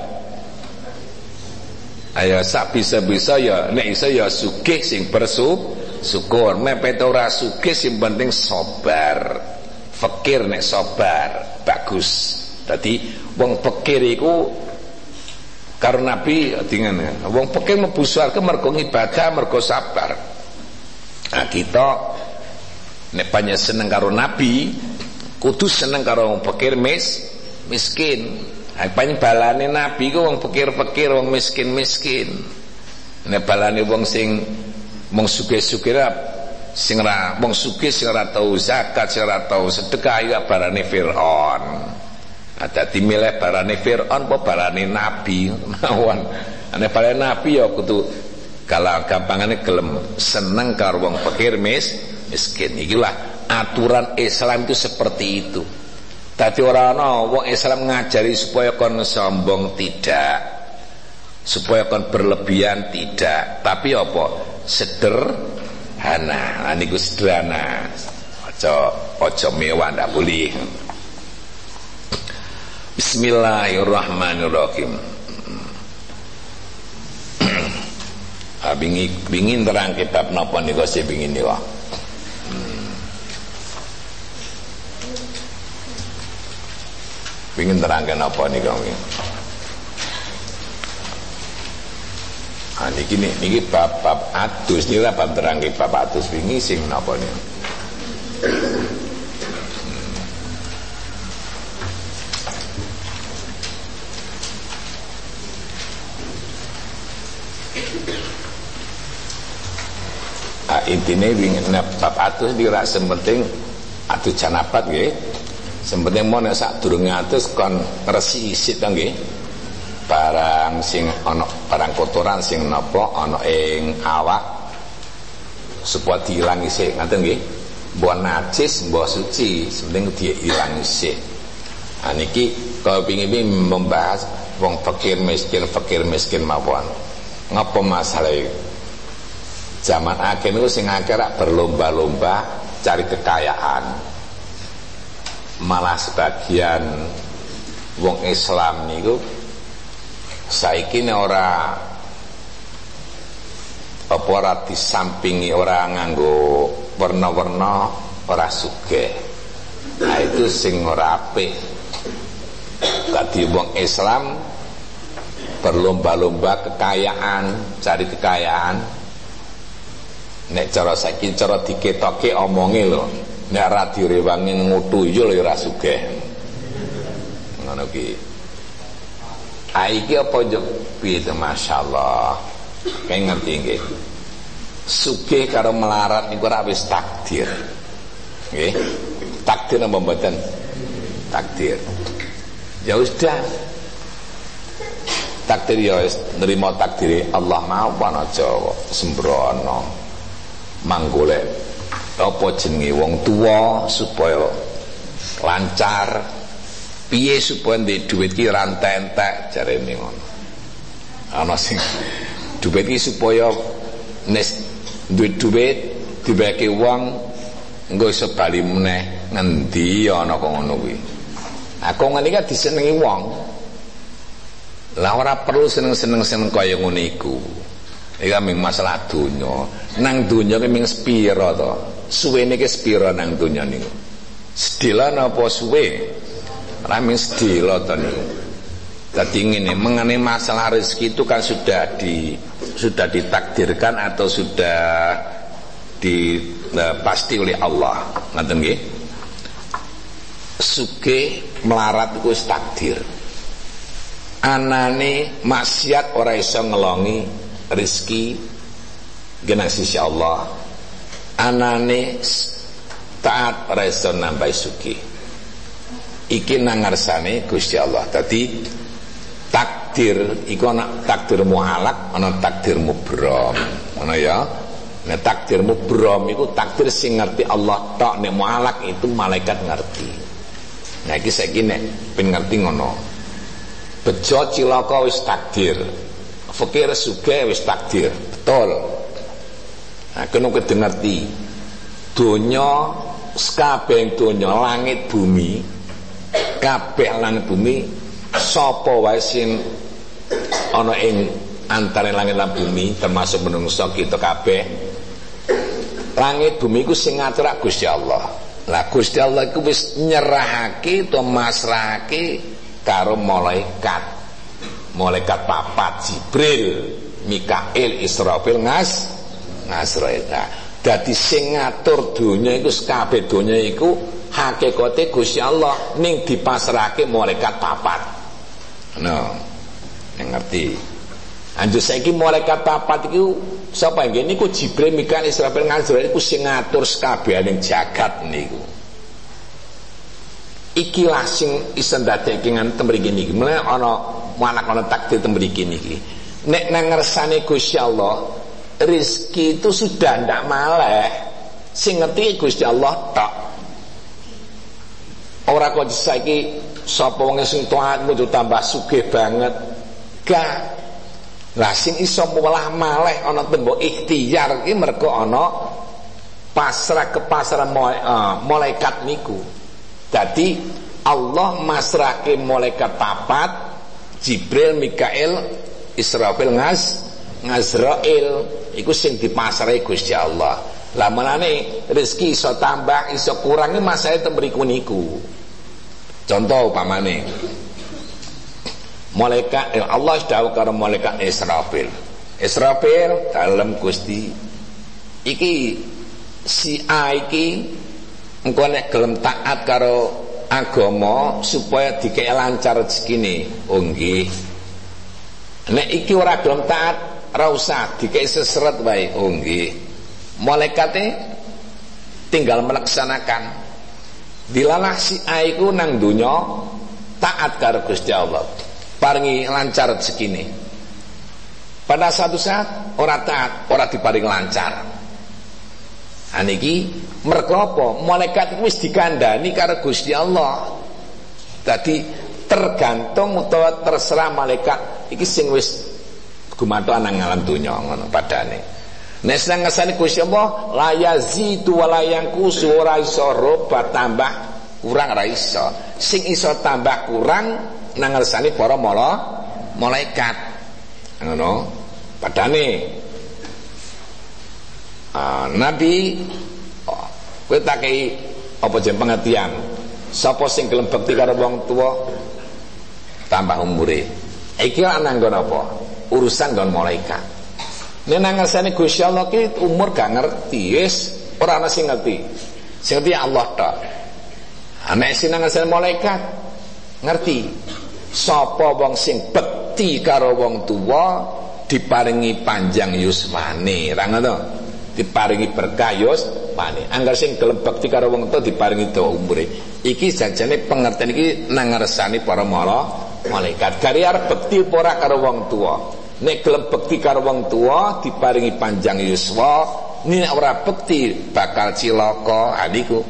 Ayo sak bisa-bisa ya nek iso ya sugih sing bersyukur, mepet ora sugih sing penting sabar. Fakir nek sabar bagus. Dadi wong fakir iku karo Nabi dengan wong fakir mlebu swarga mergo ibadah, mergo sabar. Nah kita nek banyak seneng karo Nabi kudu seneng karo wong fakir mis miskin. Paling balane Nabi ku wong fakir-fakir, wong miskin-miskin. Nek balane wong sing wong sugih-sugih sing ora wong sugih sing ora tau zakat, sing ora tau sedekah ya barane Firaun. Ada dimilih barane Firaun apa barane Nabi mawon. Nek barane Nabi ya kudu kalau gampangane gelem seneng karo wong fakir mis miskin. Ikilah aturan Islam itu seperti itu. Tadi orang ana wong Islam ngajari supaya kon sombong tidak, supaya kon berlebihan tidak, tapi apa? Sederhana. Nah niku sederhana. Aja aja mewah ndak boleh. Bismillahirrahmanirrahim. Ah bingi bingin terang kitab napa niku sing bingin niku. Pengen terangkan apa nih kamu? Ah niki niki bab bab atus niki lah bab terangkan bab atus wingi sing napa nih? Ah intine wingi bab atus dira sementing atus janabat nggih. Sebenarnya mau nek sak durunge atus kon resi isit to nggih. Barang sing ana barang kotoran sing napa ana ing awak supaya diilang isih ngoten nggih. Mbok najis mbok suci, sebenarnya diilang isih. Ah niki kalau pengin membahas wong fakir miskin fakir miskin mawon. Ngapa masalah iki? Zaman akhir niku sing akeh berlomba-lomba cari kekayaan. Malah sebagian wong Islam niku saiki nek ora apa ora disampingi ora nganggo warna-warna ora sugih. Nah itu sing ora apik. Dadi wong Islam berlomba-lomba kekayaan, cari kekayaan. Nek cara saiki cara diketoke omonge lho, nek ra direwangi ngutu yo lho ora sugih. Ngono ki. Ah iki apa yo piye to masyaallah. Kayak ngerti nggih. Sugih karo melarat niku ora wis takdir. Nggih. Takdir apa mboten? Takdir. Ya sudah. Takdir ya wis nerima takdire Allah mawon aja sembrono. Manggolek apa jenenge wong tuwa supaya lancar. Piye supaya ndek dhuwit ki ora entek jarene ngono. Ana sing dhuwit ki supaya nes duit duit dibagi uang engko iso bali meneh ngendi ana kok ngono kuwi. Aku ngene iki disenengi wong. Lah ora perlu seneng-seneng seneng kaya ngene iku. Iki mung masalah donya. Nang donya ki mung sepira to? Suwene ki sepira nang donya niku? Sedila napa suwe? Ora mung sedila to niku. Dadi ngene, mengenai masalah rezeki itu kan sudah di sudah ditakdirkan atau sudah di uh, pasti oleh Allah. Ngoten nggih. Sugih melarat iku wis takdir. Anane maksiat ora iso ngelongi rezeki genah sisi Allah. Anane taat ora iso nambahi sugih. Iki nang ngarsane Gusti Allah. Dadi takdir iku ana takdir mualak, ana takdir mubram. Ngono ya. Nek takdir mubram iku takdir sing ngerti Allah tok, nek mualak itu malaikat ngerti. Nah iki saiki nek ben ngerti ngono. Bejo cilaka wis takdir. Fakir sugih wis takdir. Betul. Nah kena kudu ngerti. Donya sakabeh donya langit bumi, kabeh langit bumi sapa wae sing ana ing antara langit lan bumi termasuk menungso kita kabeh. Langit bumi ku sing ngatur Gusti Allah. Lah Gusti Allah iku wis nyerahake to masrahake karo malaikat. Malaikat papat Jibril, Mikail, Israfil, ngas Ngasrail. Nah, dadi sing ngatur donya iku kabeh donya iku hakikate Gusti Allah ning dipasrahake malaikat papat. No, yang ngerti. Anjur saiki malaikat papat iku sapa nggih niku Jibril, Mikail, Israfil, Ngasrail iku sing ngatur sakabehing jagat niku. Iki lah sing iso ndadekake nganti mriki niki. Mulane ana anak ana takdir mriki niki. Nek nang ngersane Gusti Allah, rezeki itu sudah ndak maleh. Sing ngerti Gusti Allah tok. Ora kok saiki sapa wong sing taat kudu tambah sugih banget. Gak. Lah sing iso mulah maleh ana tembok ikhtiar iki mergo ana pasrah kepasaran malaikat niku. Jadi Allah masrahke malaikat papat Jibril, Mikail, Israfil, Ngas Ngazrail iku sing dipasrahi Gusti Allah. Lah menane rezeki iso tambah iso kurang iki masalah temriku niku. Contoh upamane malaikat eh, Allah dawuh karo malaikat Israfil. Israfil dalem Gusti iki si A iki engko nek gelem taat karo agama supaya dikek lancar rezekine. Oh nggih. Nek iki ora gelem taat ora usah dikek seseret wae. Oh nggih. Malaikate tinggal melaksanakan. Dilalah si A iku nang donya taat karo Gusti Allah. Paringi lancar rezekine. Pada satu saat ora taat, ora diparing lancar. Aniki mergo apa? Malaikat wis dikandani karo Gusti Allah. Dadi tergantung utawa terserah malaikat iki sing wis gumantung nang alam donya ngono padane. Nek sing ngesani Gusti Allah la yazidu wa la yanqusu ora iso robat tambah kurang ora iso. Sing iso tambah kurang nang ngersani para mala malaikat. Ngono padane. Uh, Nabi oh, kowe tak kei apa jen pengertian sapa sing gelem bekti karo wong tuwa tambah umure Iki ana nggon apa? Urusan nggon malaikat. Nek nang ngersane Gusti Allah ki umur gak ngerti, wis ora ana sing ngerti. Sing ngerti Allah tok. Nek sing nang ngersane malaikat ngerti. Sapa wong sing bekti karo wong tuwa diparingi panjang yuswane, ra ngono. Diparingi berkah yuswane. Angger sing gelem bekti karo wong tuwa diparingi dawa umure. Iki janjane pengertian iki nang ngersane para malaikat. Gari arep bekti ora karo wong tuwa. Nek gelem bekti karo wong tuwa diparingi panjang yuswa, nek ora bekti bakal cilaka. Adiku.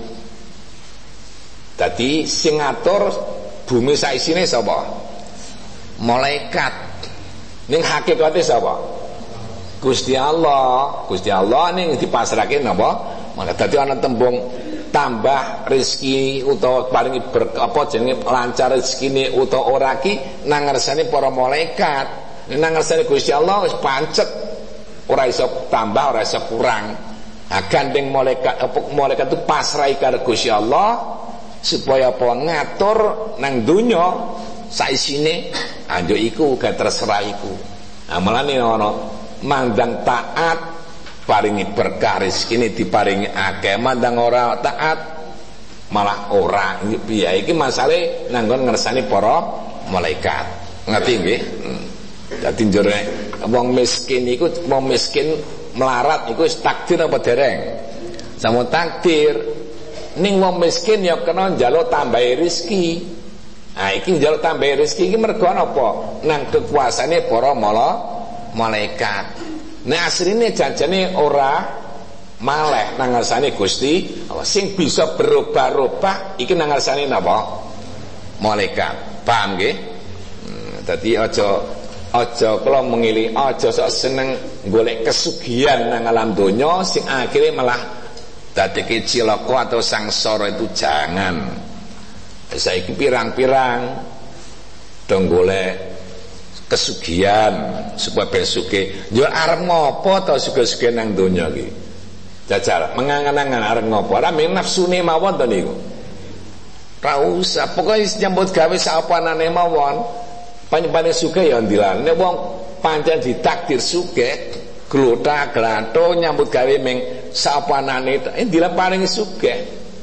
Dadi sing ngatur bumi sak isine sapa? Malaikat. Ning hakikate sapa? Gusti Allah. Gusti Allah ning dipasrahke napa? Malaikat. Dadi ana tembung tambah rezeki utawa paringi ber, apa jenenge lancar rezekine utawa ora ki nang ngersane para malaikat. Nang ngersane Gusti Allah wis pancet, ora iso tambah, ora iso kurang. Nah, gandeng malaikat apa malaikat itu pasrah karo Gusti Allah supaya apa ngatur nang donya saisine, anjo iku gak terserah iku. Nah, mulane ana mandang taat paringi berkah rezekine diparingi akeh, mandang ora taat malah ora. Piye iki masalahe nang nggon ngersane para malaikat. Ngerti nggih? Hmm. Dadi njere wong miskin iku wong miskin melarat iku wis takdir apa dereng? Sampun takdir. Ning wong miskin ya kena njaluk tambahi rezeki. Nah iki njaluk tambahi rezeki iki mergo apa? Nang kekuasaane para mala malaikat. Nek asline janjane ora maleh nang ngarsane Gusti Allah. Sing bisa berubah-ubah iki nang ngarsane napa? Malaikat. Paham nggih? Hmm, dadi aja aja kula mengili aja sok seneng golek kesugihan nang alam donya sing akhire malah dadeke cilaka atau sangsara. Itu jangan. Saiki pirang-pirang dong golek kesugihan supaya besuke yo arep ngopo to sugih-sugih nang donya iki. Jajal mengangan-angan arep ngopo ora mung nafsune mawon to niku. Ora usah pokoke nyambut gawe sapanane mawon. Panjenengan sugih ya ndilan. Nek wong pancen ditakdir sugih, glotha glatho nyambut gawe ming sapanane eh ndilan paring sugih.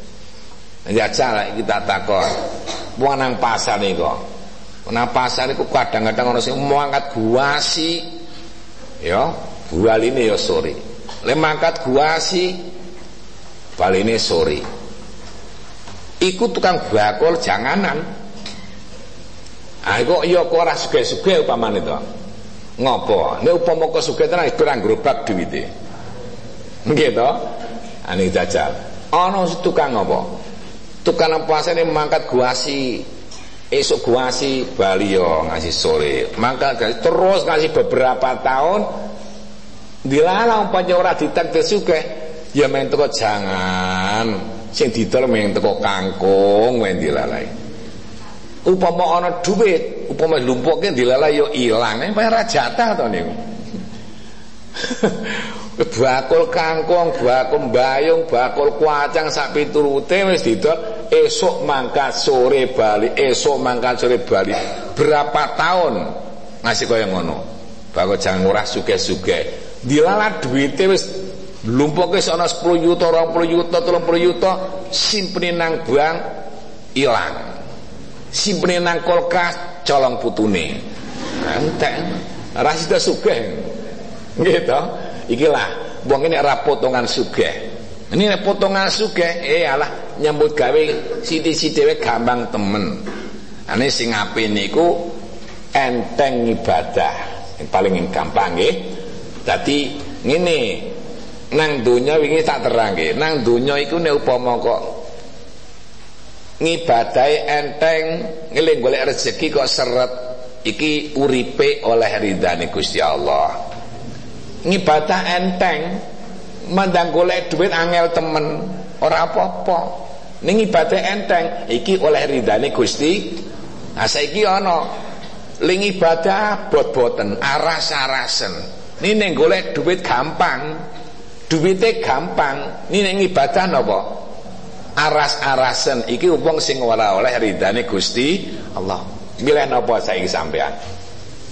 Jajal kita takon. Wong nang pasar niku. Nang pasar niku kadang-kadang ana sing mau angkat guasi. Ya, bualine ya sore. Lek mangkat guasi baline sore. Iku tukang bakul janganan. Ah kok ya kok ora sugih-sugih upamane to. Ngopo? Nek upama kok sugih tenan kurang grobak duwite. Nggih to? Ane jajal. Ana tukang apa? Tukang pasane mangkat guasi. Esuk guasi bali yo ngasih sore. Mangkat terus ngasih beberapa tahun dilarang pancen ora ditakdir sugih. Ya men teko jangan. Sing didol men teko kangkung men dilalai. Upama ana duit, upama lumpuke dilalai yo ilang, eh ora jatah to niku. Bakul kangkung, bakul mbayung, bakul kuacang sak piturute wis didol, esuk mangkat sore bali, esuk mangkat sore bali. Berapa tahun ngasih kaya ngono. Bakul jangan ora sugih-sugih. Dilalah duite wis lumpuke ana sepuluh juta, dua puluh juta, tiga puluh juta, simpene nang bank ilang. Simpene nang kulkas colong putune. Entek. Ora sida sugih. Nggih to? Iki lah wong nek ora potongan sugih. Ini nek potongan sugih, eh alah nyambut gawe sithik-sithik dhewe gampang temen. Ane sing apik niku enteng ibadah. Yang paling gampang nggih. Dadi ngene, nang donya wingi tak terangke. Nang donya iku nek upama kok ngibadahi enteng, ngeling golek rezeki kok seret, iki uripe oleh ridane Gusti Allah. Ngibadah enteng, mandang golek duit angel temen, ora apa-apa. Ning ibadah enteng, iki oleh ridane Gusti. Nah saiki ana ling ibadah bot-boten, aras-arasen. Ini ning golek duit gampang, duwite gampang. Ini ning ibadah napa? Aras-arasen. Iki wong sing ora oleh ridane Gusti Allah. Milih napa saiki sampean?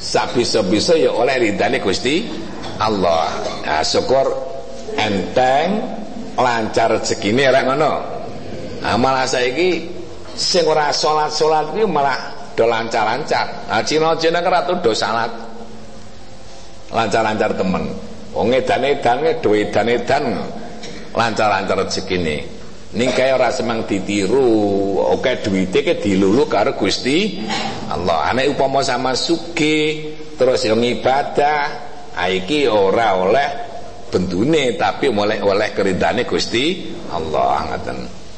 sabisa-bisa ya oleh ridane Gusti Allah. Nah, syukur enteng lancar rezekine rek ngono. Nah, malah saiki sing ora salat-salat iki malah do lancar-lancar. Nah, Cina-Cina keratu do salat lancar-lancar temen. Wong edan-edan do edan-edan lancar-lancar rezekine. Ning kaya ora semang ditiru, oke duwite ke dilulu karo Gusti Allah. Nek upama sama sugih terus yo ngibadah, iki ora oleh bendune tapi oleh oleh keridane Gusti Allah ngaten.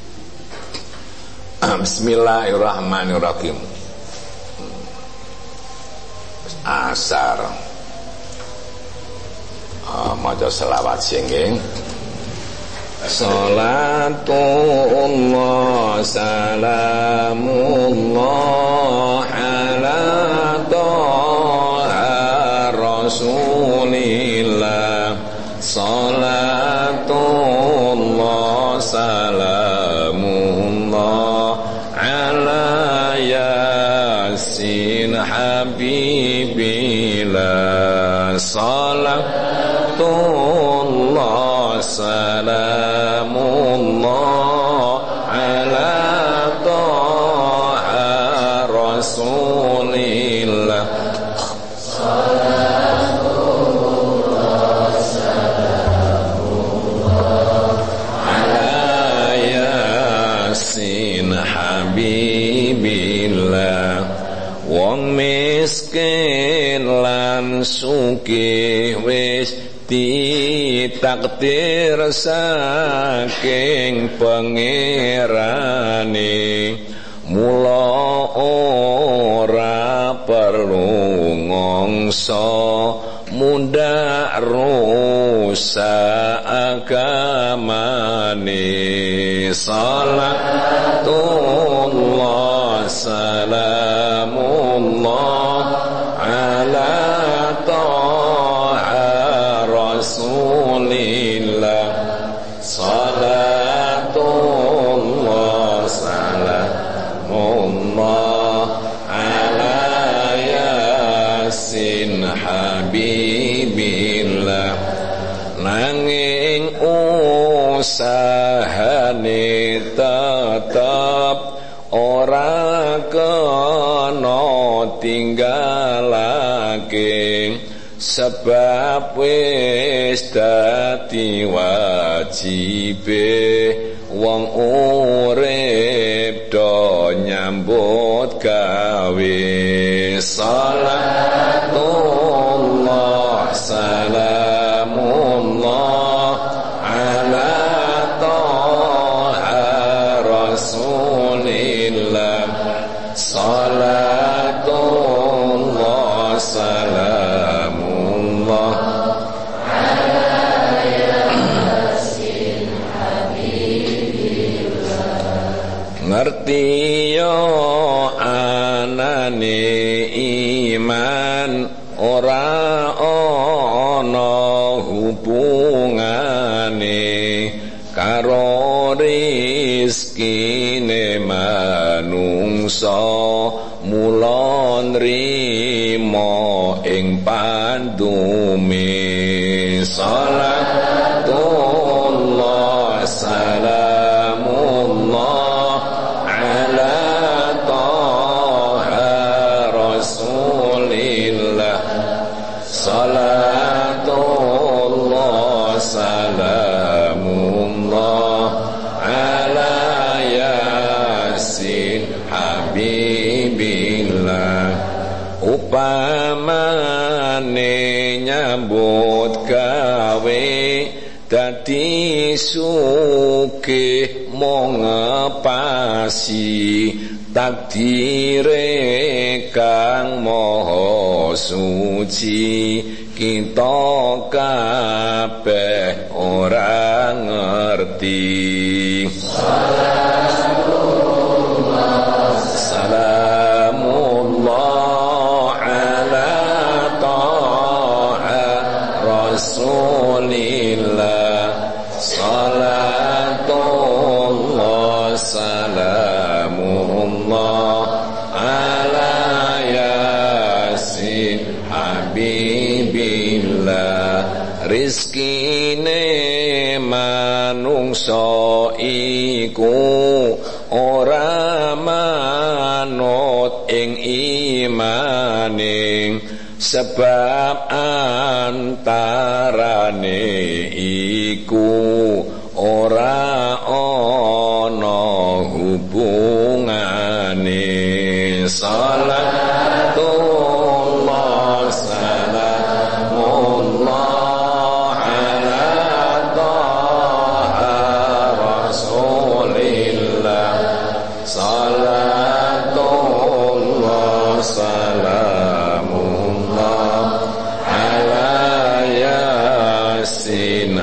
Bismillahirrahmanirrahim. Asar. Ah, maca selawat sing Salatullah salamullah ala taha rasulillah. Salatullah salamullah ala yasin habibillah. Salatullah salamullah ala taha rasulillah. Salatullah salamullah ala yasin habibillah. Wong miskin lan sugih wis ditakdir saking pangerane, mula ora perlu ngongso mundhak rusak agamane. Salatullah salamullah ala taha rasulillah. Salatullah salamullah ala yasin habibillah. Nanging usahane tetap ora kena tinggalake, sebab wis dadi wajibe wong urip do nyambut gawe. Salatullah salamullah ala taha rasulillah. Salatullah salamullah ala yasin habibillah. Ngerti yo anane iman ora ana hubungane karo rizkine manungsa, mula nrimo ing pandume. Salatullah salamullah ala taha rasulillah. Salatullah salamullah ala yasin habibillah. Upamane nyambut gawe dadi sugih mong ngepasi takdire kang maha suci, kita kabeh ora ngerti. Salamullah salamullah ala taha rasulillah. Salatullah salamullah ala yasin lillah rizkine manungsa iku ora manut ing imaning sebab antarane iku ora ana hubungane salatullah salamullah ala taha rasulillah salatullah salamullah ala yasin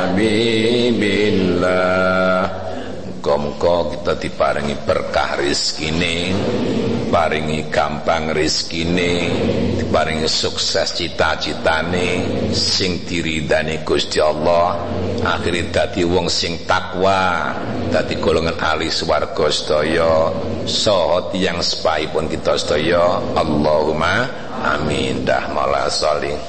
habibillah. Muga-muga kita diparingi berkah rezekine, paringi gampang rezekine, diparingi sukses cita-citane sing diridani Gusti Allah, akhire dadi wong sing takwa, dadi golongan ahli swarga sedaya saha tiyang sepaipun kita sedaya. Allahumma amin. Dah maula sholih.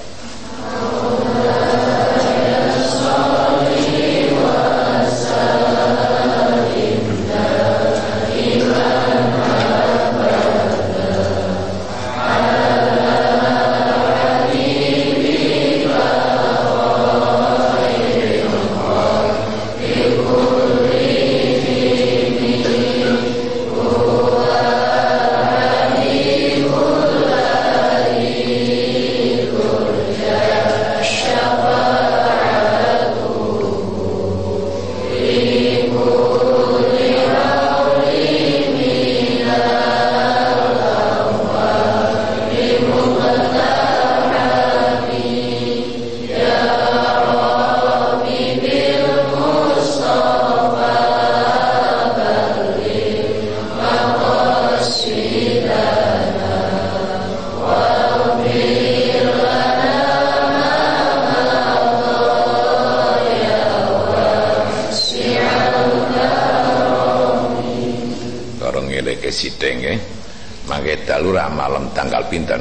Sideng nggih mangke dalu ra malam tanggal pinten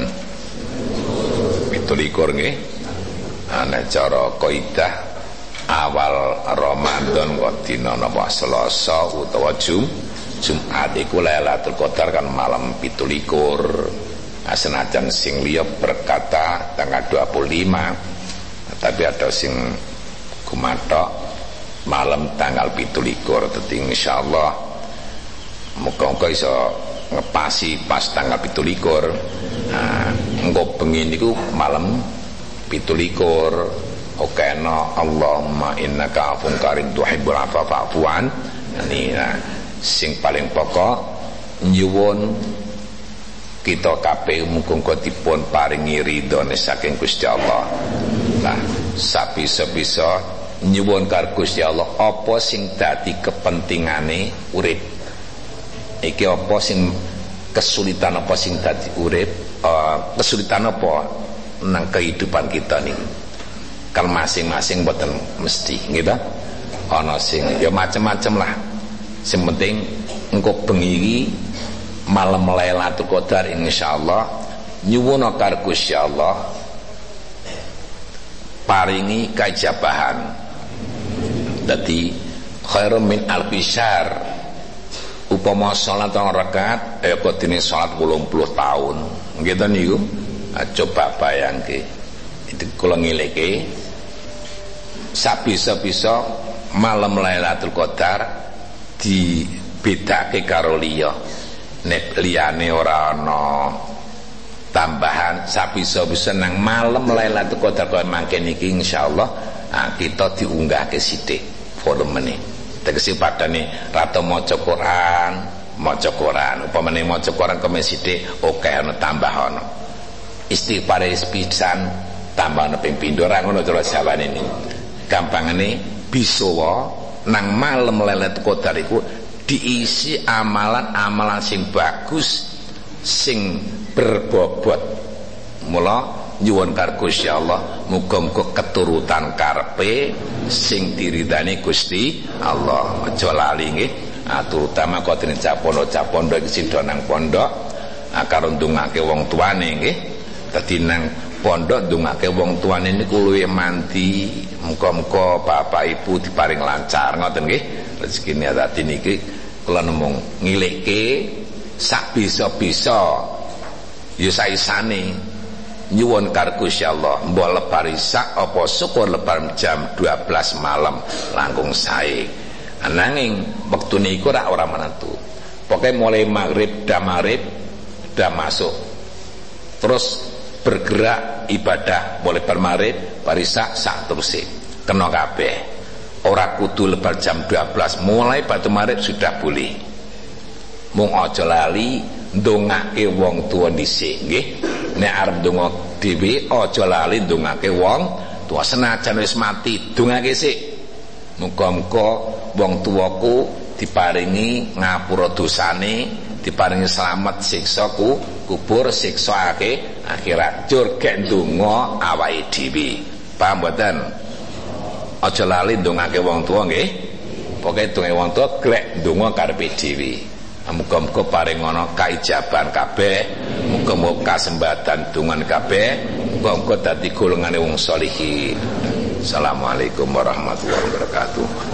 pitulikur nggih ana cara kaidah awal Ramadan kok dina napa Selasa utawa Jum Jumat iku Lailatul Qadar kan malam pitulikur. Senajan sing liya berkata tanggal dua puluh lima tapi ada sing gumathok malam tanggal pitulikur. Dadi insyaallah muga-muga iso ngepasi pas tanggal pitulikur. Nah, engko bengi niku malam pitulikur. Oke no Allahumma innaka afun karim tuhibbul afwa fa'fu an. Nah, sing paling pokok nyuwun kita kabeh muga-muga dipun paringi ridhone saking Gusti Allah. Nah, sabisa-bisa nyuwun karo Gusti Allah apa sing dadi kepentingane urip. Iki apa sing kesulitan apa sing dadi urip, uh, kesulitan apa nang kehidupan kita nih. Kan masing-masing mboten mesti nggih ta. Ana sing ya macam-macam lah. Sing penting engko bengi iki malam Lailatul Qadar insyaallah nyuwun karo Gusti Allah paringi kajabahan. Dadi khairum min alfi syahr. Upama salat rong rakaat eh kok dene salat wolung puluh tahun nggih to niku. Nah, coba bayangke itu kula ngileke sabisa-bisa malam Lailatul Qadar dibedake karo liya. Nek liyane ora ana tambahan sabisa-bisa nang malam Lailatul Qadar kaya mangke niki insyaallah nah, kita diunggahke sithik volumene. Tegese padane rata maca Quran, maca Quran, upamane maca Quran kome sithik oke ana tambah ana. Istighfar pisan tambah ana ping pindho ra ngono cara jawane iki. Gampangane bisa wae nang malam Lailatul Qadar iku diisi amalan-amalan sing bagus sing berbobot. Mula nyuwun karo Gusti Allah muga-muga keturutan karepe sing diridani Gusti Allah. Aja lali nggih. Ah terutama kok dene capono-capondo iki sida nang pondok, ah karo ndongake wong tuane nggih. Dadi nang pondok ndongake wong tuane niku luwih mandi, muga-muga bapak ibu diparing lancar ngoten nggih. Rezekine dadi niki kula nemung ngilikke sak bisa-bisa ya saisane nyuwun karo Gusti Allah mbok lebar isak apa syukur lebar jam dua belas malam langkung sae. Ananging wektune iku ora ora menentu. Pokoke mulai maghrib dah maghrib dah masuk. Terus bergerak ibadah mulai bar maghrib bar isak sak teruse kena kabeh. Ora kudu lebar jam dua belas, mulai batu maghrib sudah boleh. Mung aja lali ndongake wong tuwa dhisik nggih. Nek arep ndonga dhewe aja lali ndongake wong tuwa, senajan wis mati ndongake sik. Muga-muga wong tuwaku diparingi ngapura dosane, diparingi selamat siksa ku kubur, siksa ake akhirat. Jur gek ndonga awake dhewe. Paham mboten? Aja lali ndongake wong tuwa nggih. Pokoke ndonga wong tuwa glek ndonga karepe dhewe. Muga-muga paring ana kaijaban kabeh, muga-muga kasembatan dongan kabeh, muga-muga dadi golongane wong sholihin. Assalamualaikum warahmatullahi wabarakatuh.